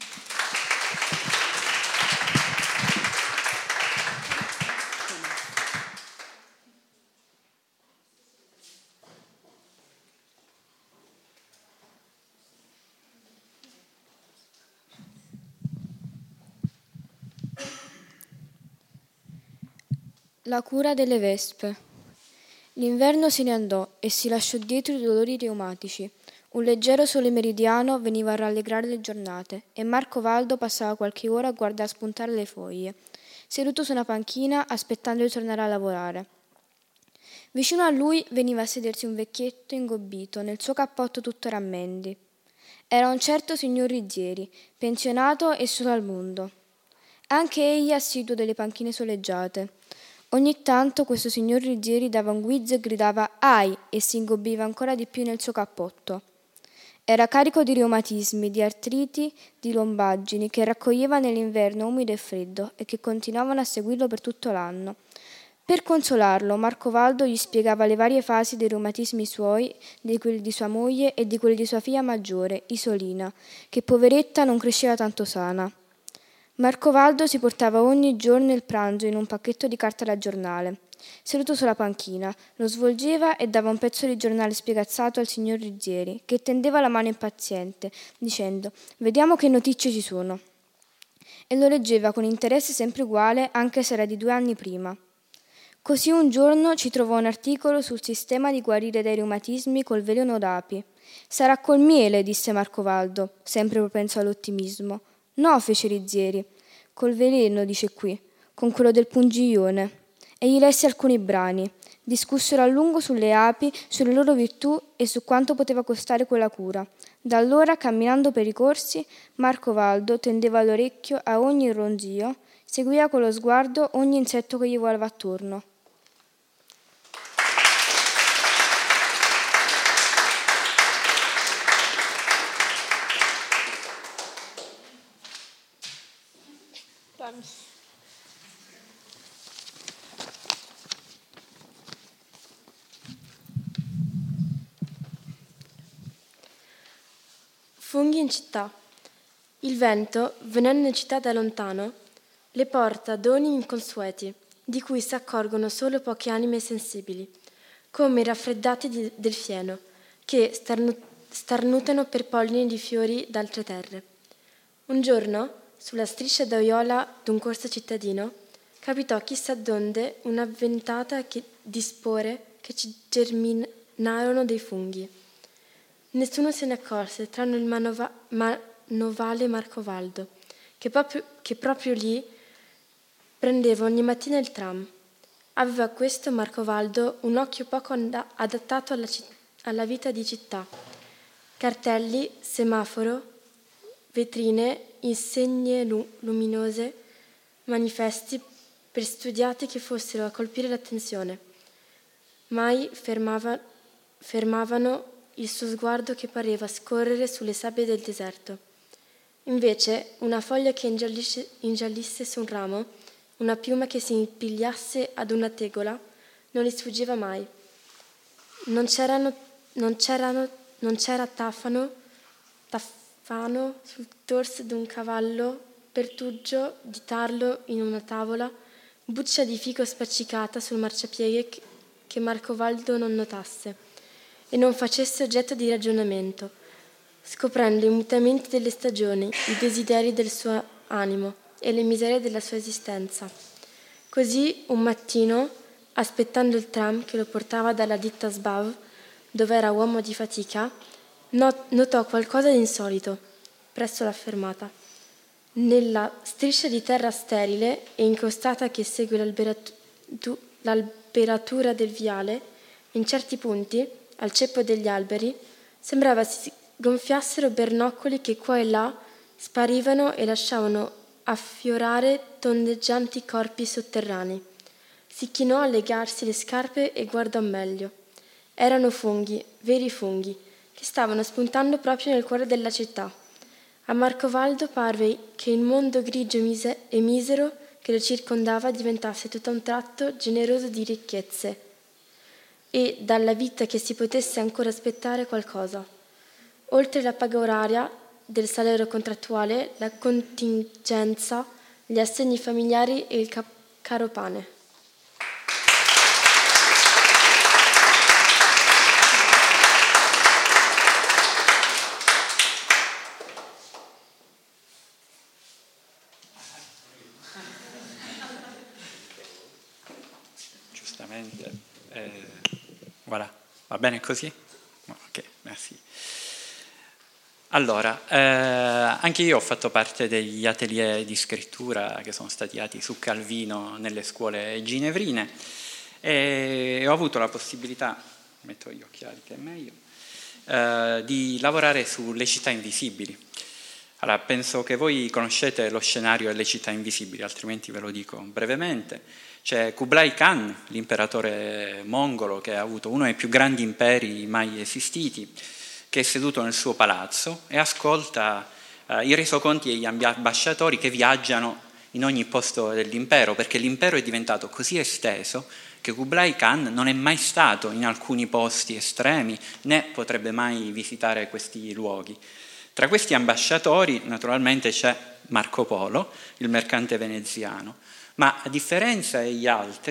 La cura delle vespe. L'inverno se ne andò e si lasciò dietro i dolori reumatici. Un leggero sole meridiano veniva a rallegrare le giornate e Marco Valdo passava qualche ora a guardare spuntare le foglie, seduto su una panchina aspettando di tornare a lavorare. Vicino a lui veniva a sedersi un vecchietto ingobbito nel suo cappotto tutto rammendi. Era un certo signor Rizzieri, pensionato e solo al mondo. Anche egli assiduo delle panchine soleggiate. Ogni tanto questo signor Rizzieri dava un guizzo e gridava «Ai!» e si ingobbiva ancora di più nel suo cappotto. Era carico di reumatismi, di artriti, di lombaggini che raccoglieva nell'inverno umido e freddo e che continuavano a seguirlo per tutto l'anno. Per consolarlo, Marco Valdo gli spiegava le varie fasi dei reumatismi suoi, di quelli di sua moglie e di quelli di sua figlia maggiore, Isolina, che poveretta non cresceva tanto sana. Marco Valdo si portava ogni giorno il pranzo in un pacchetto di carta da giornale Seduto sulla panchina, lo svolgeva e dava un pezzo di giornale spiegazzato al signor Rizzieri, che tendeva la mano impaziente, dicendo «Vediamo che notizie ci sono». E lo leggeva con interesse sempre uguale, anche se era di due anni prima. Così un giorno ci trovò un articolo sul sistema di guarire dai reumatismi col veleno d'api. «Sarà col miele», disse Marcovaldo, sempre propenso all'ottimismo. «No», fece Rizzieri. «Col veleno, dice qui, con quello del pungiglione». E gli lesse alcuni brani. Discussero a lungo sulle api, sulle loro virtù e su quanto poteva costare quella cura. Da allora, camminando per i corsi, Marcovaldo tendeva l'orecchio a ogni ronzio, seguiva con lo sguardo ogni insetto che gli volava attorno. Funghi in città. Il vento, venendo in città da lontano, le porta doni inconsueti, di cui si accorgono solo poche anime sensibili, come i raffreddati di, del fieno, che starnu- starnutano per polline di fiori d'altre terre. Un giorno, sulla striscia d'Oiola d'un corso cittadino, capitò chissà donde una ventata che, di spore che ci germinarono dei funghi. Nessuno se ne accorse, tranne il manova- manovale Marcovaldo, che proprio, che proprio lì prendeva ogni mattina il tram. Aveva questo Marcovaldo un occhio poco and- adattato alla, ci- alla vita di città. Cartelli, semaforo, vetrine, insegne lu- luminose, manifesti per studiati che fossero a colpire l'attenzione. Mai fermava- fermavano il suo sguardo che pareva scorrere sulle sabbie del deserto. Invece, una foglia che ingiallisse su un ramo, una piuma che si impigliasse ad una tegola, non gli sfuggiva mai. Non c'erano, non c'erano, non c'era tafano, tafano sul dorso d'un cavallo, pertugio di tarlo in una tavola, buccia di fico spaccicata sul marciapiede che, che Marcovaldo non notasse e non facesse oggetto di ragionamento, scoprendo i mutamenti delle stagioni, i desideri del suo animo e le miserie della sua esistenza. Così, un mattino, aspettando il tram che lo portava dalla ditta Sbav, dove era uomo di fatica, notò qualcosa di insolito presso la fermata. Nella striscia di terra sterile e incostata che segue l'alberatu- l'alberatura del viale, in certi punti, al ceppo degli alberi, sembrava si gonfiassero bernoccoli che qua e là sparivano e lasciavano affiorare tondeggianti corpi sotterranei. Si chinò a legarsi le scarpe e guardò meglio. Erano funghi, veri funghi, che stavano spuntando proprio nel cuore della città. A Marcovaldo parve che il mondo grigio e misero che lo circondava diventasse tutto a un tratto generoso di ricchezze e dalla vita che si potesse ancora aspettare qualcosa. Oltre la paga oraria del salario contrattuale, la contingenza, gli assegni familiari e il cap- caro pane. Giustamente. Eh... Voilà. Va bene così? Ok, merci. Allora, eh, anche io ho fatto parte degli atelier di scrittura che sono stati dati su Calvino nelle scuole ginevrine e ho avuto la possibilità, metto gli occhiali che è meglio, eh, di lavorare sulle città invisibili. Allora, penso che voi conoscete lo scenario delle città invisibili, altrimenti ve lo dico brevemente. C'è Kublai Khan, l'imperatore mongolo che ha avuto uno dei più grandi imperi mai esistiti, che è seduto nel suo palazzo e ascolta eh, i resoconti degli ambasciatori che viaggiano in ogni posto dell'impero, perché l'impero è diventato così esteso che Kublai Khan non è mai stato in alcuni posti estremi, né potrebbe mai visitare questi luoghi. Tra questi ambasciatori, naturalmente, c'è Marco Polo, il mercante veneziano. Ma a differenza degli altri,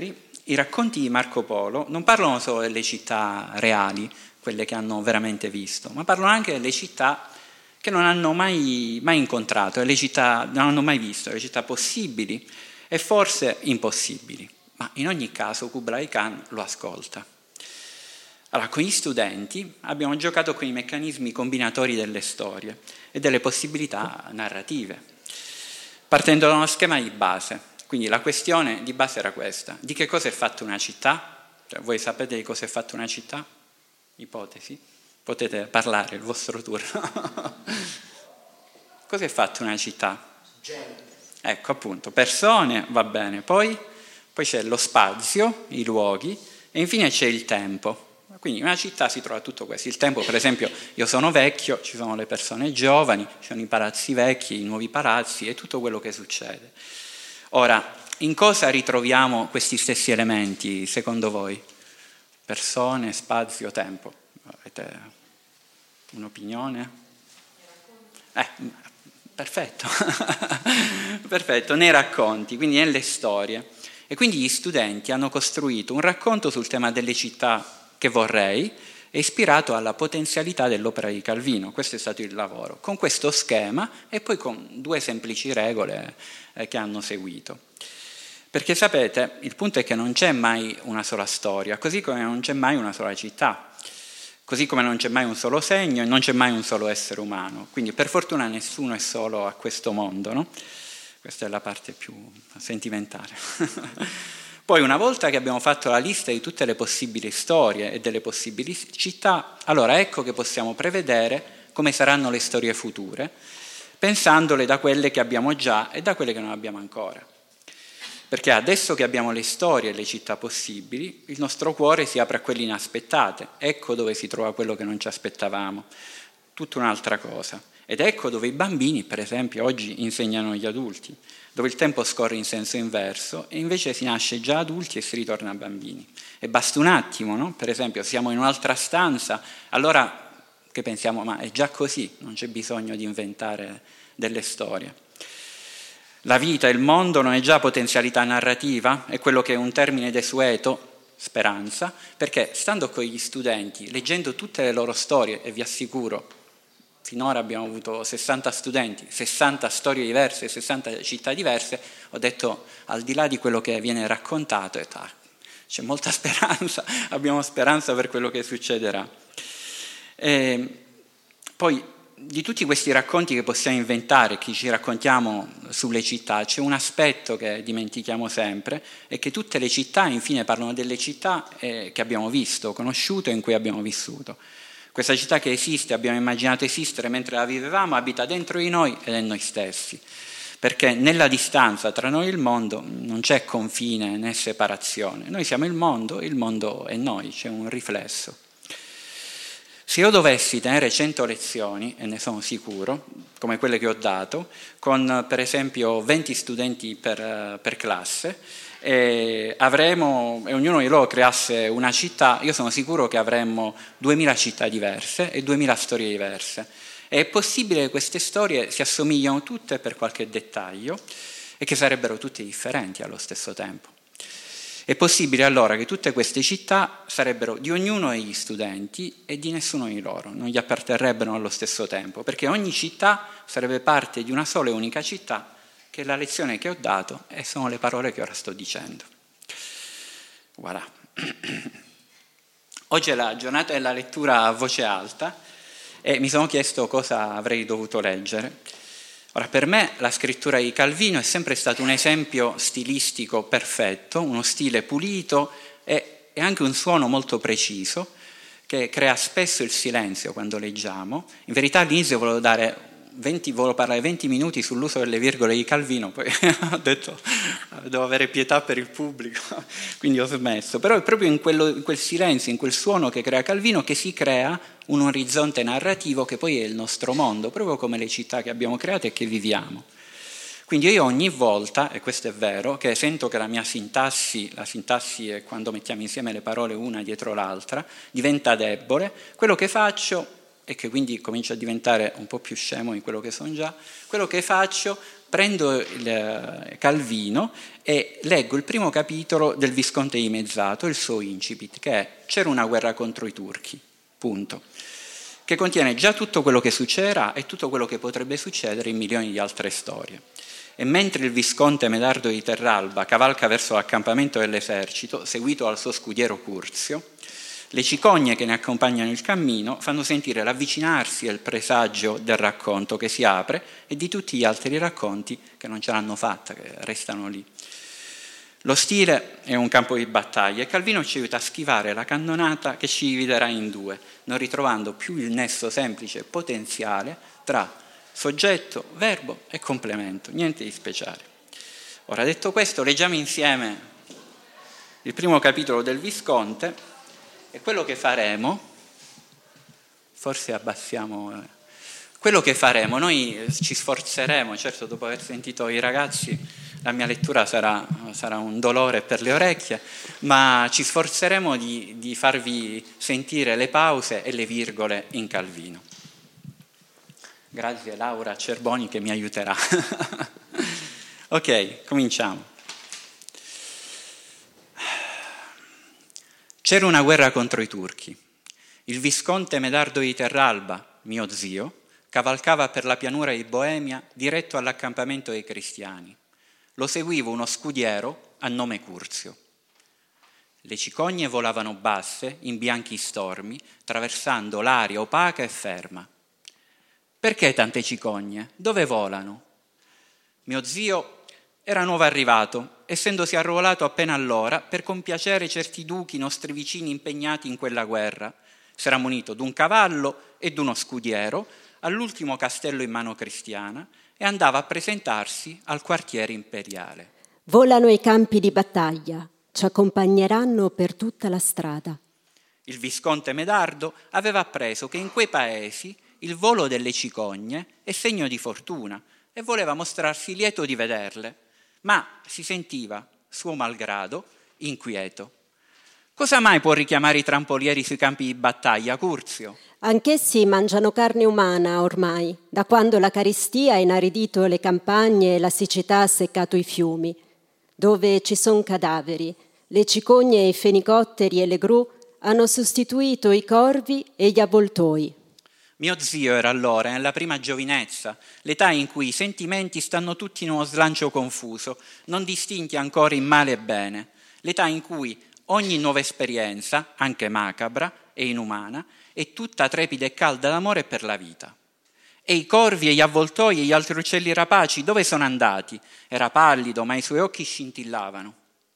i racconti di Marco Polo non parlano solo delle città reali, quelle che hanno veramente visto, ma parlano anche delle città che non hanno mai, mai incontrato, le città non hanno mai visto, le città possibili e forse impossibili. Ma in ogni caso Kublai Khan lo ascolta. Allora, con gli studenti abbiamo giocato con i meccanismi combinatori delle storie e delle possibilità narrative, partendo da uno schema di base. Quindi la questione di base era questa: di che cosa è fatta una città? Cioè, voi sapete di cosa è fatta una città? Ipotesi? Potete parlare, il vostro turno. Cosa è fatta una città? Gente. Ecco, appunto, persone, va bene. Poi, poi c'è lo spazio, i luoghi, e infine c'è il tempo. Quindi in una città si trova tutto questo. Il tempo, per esempio, io sono vecchio, ci sono le persone giovani, ci sono i palazzi vecchi, i nuovi palazzi e tutto quello che succede. Ora, in cosa ritroviamo questi stessi elementi, secondo voi? Persone, spazio, tempo. Avete un'opinione? Eh, perfetto. Perfetto, nei racconti, quindi nelle storie. E quindi gli studenti hanno costruito un racconto sul tema delle città che vorrei, è ispirato alla potenzialità dell'opera di Calvino. Questo è stato il lavoro, con questo schema e poi con due semplici regole eh, che hanno seguito. Perché sapete, il punto è che non c'è mai una sola storia, così come non c'è mai una sola città, così come non c'è mai un solo segno e non c'è mai un solo essere umano. Quindi per fortuna nessuno è solo a questo mondo, no? Questa è la parte più sentimentale. Poi una volta che abbiamo fatto la lista di tutte le possibili storie e delle possibili città, allora ecco che possiamo prevedere come saranno le storie future, pensandole da quelle che abbiamo già e da quelle che non abbiamo ancora. Perché adesso che abbiamo le storie e le città possibili, il nostro cuore si apre a quelle inaspettate. Ecco dove si trova quello che non ci aspettavamo, tutta un'altra cosa. Ed ecco dove i bambini, per esempio, oggi insegnano agli adulti, dove il tempo scorre in senso inverso e invece si nasce già adulti e si ritorna bambini. E basta un attimo, no? Per esempio, siamo in un'altra stanza, allora che pensiamo, ma è già così, non c'è bisogno di inventare delle storie. La vita, il mondo non è già potenzialità narrativa, è quello che è un termine desueto, speranza, perché stando con gli studenti, leggendo tutte le loro storie, e vi assicuro, finora abbiamo avuto sessanta studenti, sessanta storie diverse, sessanta città diverse, ho detto, al di là di quello che viene raccontato, ho detto, ah, c'è molta speranza, abbiamo speranza per quello che succederà. E poi, di tutti questi racconti che possiamo inventare, che ci raccontiamo sulle città, c'è un aspetto che dimentichiamo sempre, è che tutte le città, infine, parlano delle città eh, che abbiamo visto, conosciuto e in cui abbiamo vissuto. Questa città che esiste, abbiamo immaginato esistere mentre la vivevamo, abita dentro di noi ed è noi stessi. Perché nella distanza tra noi e il mondo non c'è confine né separazione. Noi siamo il mondo, il mondo è noi, c'è un riflesso. Se io dovessi tenere cento lezioni, e ne sono sicuro, come quelle che ho dato, con per esempio venti studenti per, per classe, e, avremo, e ognuno di loro creasse una città, io sono sicuro che avremmo duemila città diverse e duemila storie diverse. E è possibile che queste storie si assomigliano tutte per qualche dettaglio e che sarebbero tutte differenti allo stesso tempo. È possibile allora che tutte queste città sarebbero di ognuno degli studenti e di nessuno di loro, non gli apparterrebbero allo stesso tempo, perché ogni città sarebbe parte di una sola e unica città, che è la lezione che ho dato e sono le parole che ora sto dicendo. Voilà. Oggi è la giornata della lettura a voce alta e mi sono chiesto cosa avrei dovuto leggere. Ora, per me la scrittura di Calvino è sempre stato un esempio stilistico perfetto, uno stile pulito e, e anche un suono molto preciso che crea spesso il silenzio quando leggiamo. In verità all'inizio volevo, dare venti, volevo parlare venti minuti sull'uso delle virgole di Calvino, poi ho detto devo avere pietà per il pubblico, quindi ho smesso. Però è proprio in, quello, in quel silenzio, in quel suono che crea Calvino che si crea un orizzonte narrativo che poi è il nostro mondo, proprio come le città che abbiamo creato e che viviamo. Quindi io ogni volta, e questo è vero, che sento che la mia sintassi, la sintassi è quando mettiamo insieme le parole una dietro l'altra, diventa debole, quello che faccio, e che quindi comincio a diventare un po' più scemo di quello che sono già, quello che faccio, prendo il Calvino e leggo il primo capitolo del Visconte dimezzato, il suo incipit, che è C'era una guerra contro i turchi, punto, che contiene già tutto quello che succederà e tutto quello che potrebbe succedere in milioni di altre storie. E mentre il Visconte Medardo di Terralba cavalca verso l'accampamento dell'esercito, seguito dal suo scudiero Curzio, le cicogne che ne accompagnano il cammino fanno sentire l'avvicinarsi e il presagio del racconto che si apre e di tutti gli altri racconti che non ce l'hanno fatta, che restano lì. Lo stile è un campo di battaglia e Calvino ci aiuta a schivare la cannonata che ci dividerà in due, non ritrovando più il nesso semplice e potenziale tra soggetto, verbo e complemento, niente di speciale. Ora, detto questo, leggiamo insieme il primo capitolo del Visconte e quello che faremo, forse abbassiamo, eh, quello che faremo, noi ci sforzeremo, certo dopo aver sentito i ragazzi la mia lettura sarà, sarà un dolore per le orecchie, ma ci sforzeremo di, di farvi sentire le pause e le virgole in Calvino. Grazie Laura Cerboni che mi aiuterà. Ok, cominciamo. C'era una guerra contro i turchi. Il Visconte Medardo di Terralba, mio zio, cavalcava per la pianura di Boemia diretto all'accampamento dei cristiani. Lo seguiva uno scudiero a nome Curzio. Le cicogne volavano basse in bianchi stormi, traversando l'aria opaca e ferma. Perché tante cicogne? Dove volano? Mio zio era nuovo arrivato, essendosi arruolato appena allora per compiacere certi duchi nostri vicini impegnati in quella guerra. S'era munito d'un cavallo e d'uno scudiero, all'ultimo castello in mano cristiana, e andava a presentarsi al quartiere imperiale. Volano i campi di battaglia, ci accompagneranno per tutta la strada. Il Visconte Medardo aveva appreso che in quei paesi il volo delle cicogne è segno di fortuna e voleva mostrarsi lieto di vederle, ma si sentiva, suo malgrado, inquieto. Cosa mai può richiamare i trampolieri sui campi di battaglia, Curzio? Anch'essi mangiano carne umana ormai, da quando la carestia ha inaridito le campagne e la siccità ha seccato i fiumi. Dove ci sono cadaveri, le cicogne, i fenicotteri e le gru hanno sostituito i corvi e gli avvoltoi. Mio zio era allora nella prima giovinezza, l'età in cui i sentimenti stanno tutti in uno slancio confuso, non distinti ancora in male e bene, l'età in cui ogni nuova esperienza, anche macabra e inumana, è tutta trepida e calda d'amore per la vita. E i corvi e gli avvoltoi e gli altri uccelli rapaci dove sono andati? Era pallido, ma i suoi occhi scintillavano.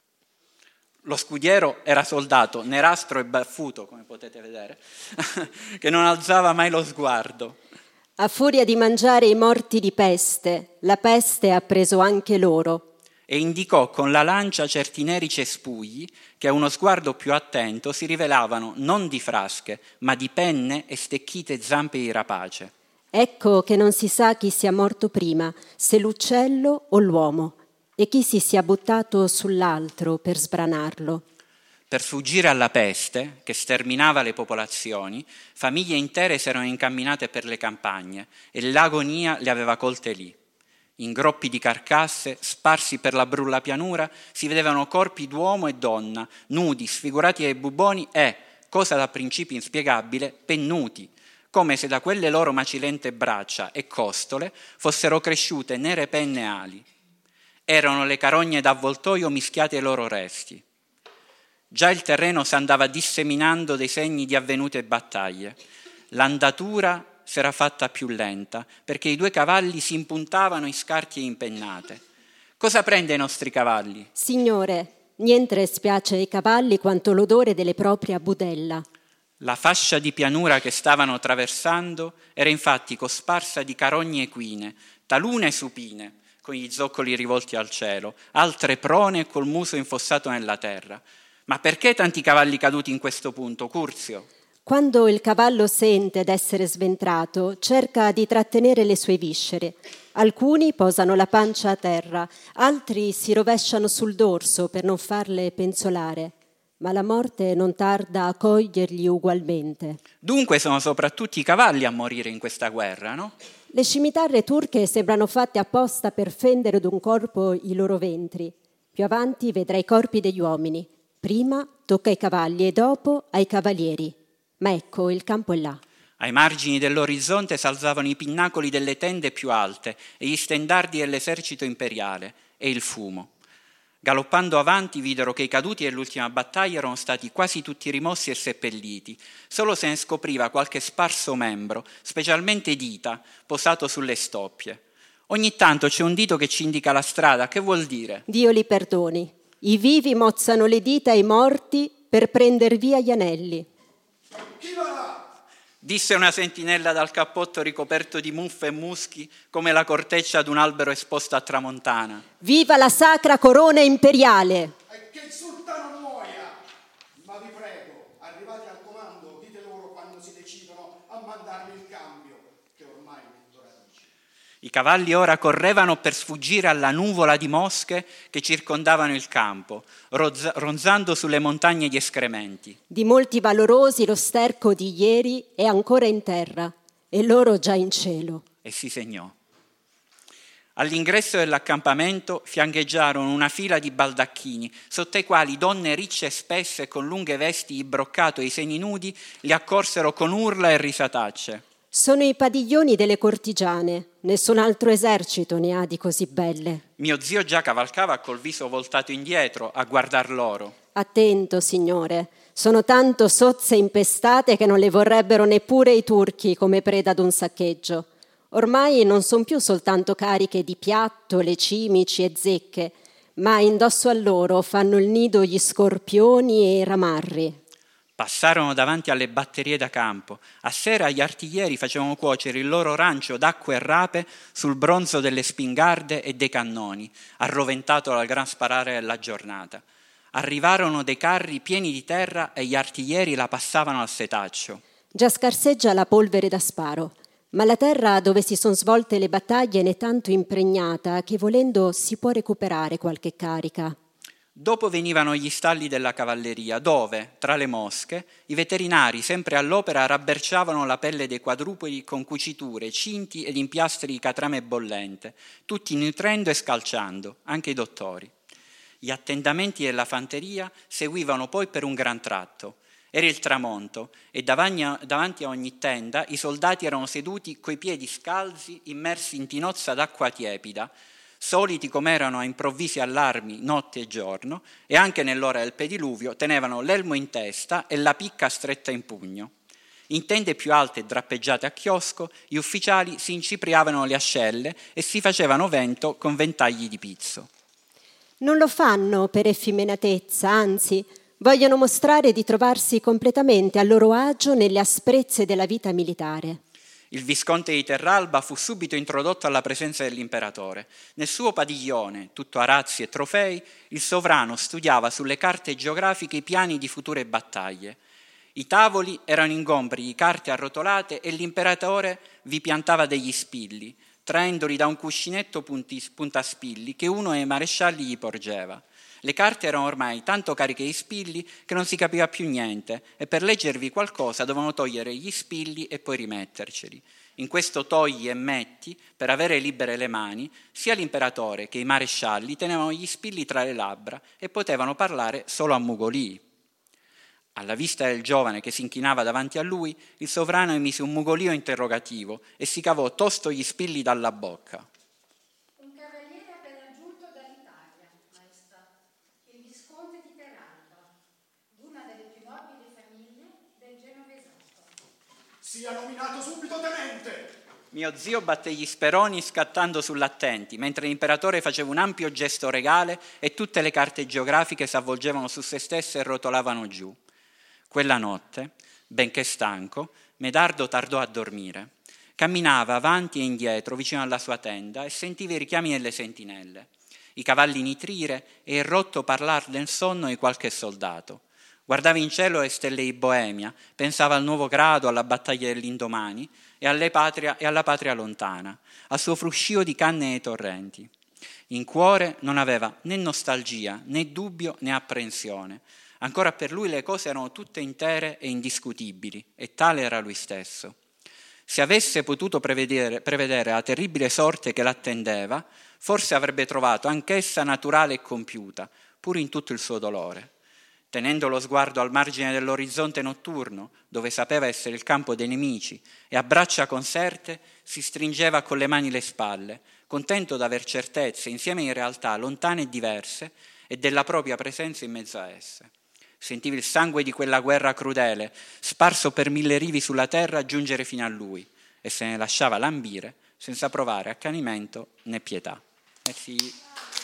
Lo scudiero era soldato, nerastro e baffuto, come potete vedere, che non alzava mai lo sguardo. A furia di mangiare i morti di peste, la peste ha preso anche loro. E indicò con la lancia certi neri cespugli che a uno sguardo più attento si rivelavano non di frasche, ma di penne e stecchite zampe di rapace. Ecco che non si sa chi sia morto prima, se l'uccello o l'uomo, e chi si sia buttato sull'altro per sbranarlo. Per fuggire alla peste, che sterminava le popolazioni, famiglie intere si erano incamminate per le campagne e l'agonia le aveva colte lì. In groppi di carcasse, sparsi per la brulla pianura, si vedevano corpi d'uomo e donna, nudi, sfigurati dai buboni e, cosa da principio inspiegabile, pennuti, come se da quelle loro macilente braccia e costole fossero cresciute nere penne e ali. Erano le carogne d'avvoltoio mischiate ai loro resti. Già il terreno s'andava disseminando dei segni di avvenute battaglie. L'andatura s'era fatta più lenta, perché i due cavalli si impuntavano in scarti e impennate. Cosa prende i nostri cavalli? Signore, niente spiace ai cavalli quanto l'odore delle proprie a budella. La fascia di pianura che stavano attraversando era infatti cosparsa di carogne equine, talune supine, con gli zoccoli rivolti al cielo, altre prone e col muso infossato nella terra. Ma perché tanti cavalli caduti in questo punto, Curzio? Quando il cavallo sente d'essere sventrato, cerca di trattenere le sue viscere. Alcuni posano la pancia a terra, altri si rovesciano sul dorso per non farle penzolare. Ma la morte non tarda a coglierli ugualmente. Dunque sono soprattutto i cavalli a morire in questa guerra, no? Le scimitarre turche sembrano fatte apposta per fendere d'un corpo i loro ventri. Più avanti vedrai i corpi degli uomini. Prima tocca ai cavalli e dopo ai cavalieri. Ma ecco, il campo è là. Ai margini dell'orizzonte s'alzavano i pinnacoli delle tende più alte e gli stendardi dell'esercito imperiale e il fumo. Galoppando avanti videro che i caduti dell'ultima battaglia erano stati quasi tutti rimossi e seppelliti. Solo se ne scopriva qualche sparso membro, specialmente dita, posato sulle stoppie. Ogni tanto c'è un dito che ci indica la strada. Che vuol dire? Dio li perdoni. I vivi mozzano le dita ai morti per prender via gli anelli. Chi va là? Disse una sentinella dal cappotto ricoperto di muffe e muschi come la corteccia d'un albero esposto a tramontana. Viva la sacra corona imperiale! E che il sultano muoia! Ma vi prego, arrivati al comando, dite loro quando si decidono a mandarmi il cambio, che ormai metto radici. I cavalli ora correvano per sfuggire alla nuvola di mosche che circondavano il campo, rozza- ronzando sulle montagne di escrementi. Di molti valorosi lo sterco di ieri è ancora in terra e loro già in cielo. E si segnò. All'ingresso dell'accampamento fiancheggiarono una fila di baldacchini, sotto i quali donne ricce e spesse con lunghe vesti di broccato e i seni nudi li accorsero con urla e risatacce. Sono i padiglioni delle cortigiane, nessun altro esercito ne ha di così belle. Mio zio già cavalcava col viso voltato indietro a guardar loro. Attento, signore, sono tanto sozze e impestate che non le vorrebbero neppure i turchi come preda d'un saccheggio. Ormai non son più soltanto cariche di piattole, cimici e zecche, ma indosso a loro fanno il nido gli scorpioni e i ramarri. Passarono davanti alle batterie da campo. A sera gli artiglieri facevano cuocere il loro rancio d'acqua e rape sul bronzo delle spingarde e dei cannoni, arroventato dal gran sparare della giornata. Arrivarono dei carri pieni di terra e gli artiglieri la passavano al setaccio. Già scarseggia la polvere da sparo, ma la terra dove si sono svolte le battaglie ne è tanto impregnata che volendo si può recuperare qualche carica. Dopo venivano gli stalli della cavalleria, dove, tra le mosche, i veterinari, sempre all'opera, rabberciavano la pelle dei quadrupedi con cuciture, cinti ed impiastri di catrame bollente, tutti nutrendo e scalciando, anche i dottori. Gli attendamenti della fanteria seguivano poi per un gran tratto. Era il tramonto e davanti a ogni tenda i soldati erano seduti coi piedi scalzi, immersi in tinozza d'acqua tiepida, soliti come erano a improvvisi allarmi notte e giorno, e anche nell'ora del pediluvio tenevano l'elmo in testa e la picca stretta in pugno. In tende più alte e drappeggiate a chiosco, gli ufficiali si incipriavano le ascelle e si facevano vento con ventagli di pizzo. Non lo fanno per effeminatezza, anzi, vogliono mostrare di trovarsi completamente a loro agio nelle asprezze della vita militare. Il visconte di Terralba fu subito introdotto alla presenza dell'imperatore. Nel suo padiglione, tutto arazzi e trofei, il sovrano studiava sulle carte geografiche i piani di future battaglie. I tavoli erano ingombri di carte arrotolate e l'imperatore vi piantava degli spilli, traendoli da un cuscinetto punti, puntaspilli che uno dei marescialli gli porgeva. Le carte erano ormai tanto cariche di spilli che non si capiva più niente e per leggervi qualcosa dovevano togliere gli spilli e poi rimetterceli. In questo togli e metti, per avere libere le mani, sia l'imperatore che i marescialli tenevano gli spilli tra le labbra e potevano parlare solo a mugolii. Alla vista del giovane che si inchinava davanti a lui, il sovrano emise un mugolio interrogativo e si cavò tosto gli spilli dalla bocca. Un cavaliere appena giunto dall'Italia, maestà, il visconte di Terralba, una delle più nobili famiglie del Genovesato. Sia nominato subito tenente! Mio zio batté gli speroni scattando sull'attenti, mentre l'imperatore faceva un ampio gesto regale e tutte le carte geografiche s'avvolgevano su se stesse e rotolavano giù. Quella notte, benché stanco, Medardo tardò a dormire. Camminava avanti e indietro vicino alla sua tenda e sentiva i richiami delle sentinelle, i cavalli nitrire e il rotto parlar del sonno di qualche soldato. Guardava in cielo le stelle di Boemia, pensava al nuovo grado, alla battaglia dell'indomani e, alle patria, e alla patria lontana, al suo fruscio di canne e torrenti. In cuore non aveva né nostalgia, né dubbio, né apprensione. Ancora per lui le cose erano tutte intere e indiscutibili, e tale era lui stesso. Se avesse potuto prevedere, prevedere la terribile sorte che l'attendeva, forse avrebbe trovato anch'essa naturale e compiuta, pur in tutto il suo dolore. Tenendo lo sguardo al margine dell'orizzonte notturno, dove sapeva essere il campo dei nemici, e a braccia conserte si stringeva con le mani le spalle, contento d'aver certezze, insieme in realtà lontane e diverse, e della propria presenza in mezzo a esse. Sentiva il sangue di quella guerra crudele, sparso per mille rivi sulla terra, giungere fino a lui, e se ne lasciava lambire senza provare accanimento né pietà. Merci.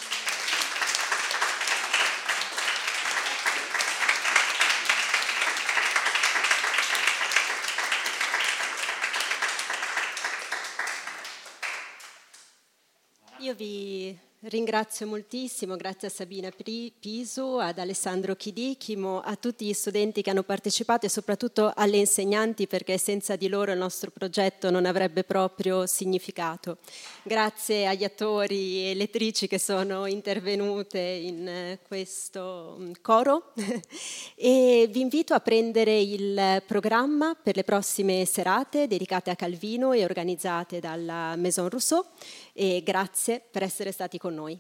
Io vi ringrazio moltissimo, grazie a Sabina Pisu, ad Alessandro Chidichimo, a tutti gli studenti che hanno partecipato e soprattutto alle insegnanti, perché senza di loro il nostro progetto non avrebbe proprio significato. Grazie agli attori e lettrici che sono intervenute in questo coro e vi invito a prendere il programma per le prossime serate dedicate a Calvino e organizzate dalla Maison Rousseau. E grazie per essere stati con noi.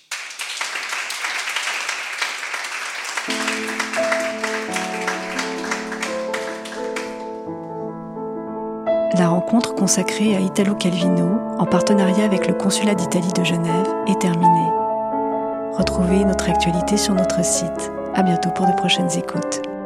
La rencontre consacrée à Italo Calvino, en partenariat avec le Consulat d'Italie de Genève, est terminée. Retrouvez notre actualité sur notre site. À bientôt pour de prochaines écoutes.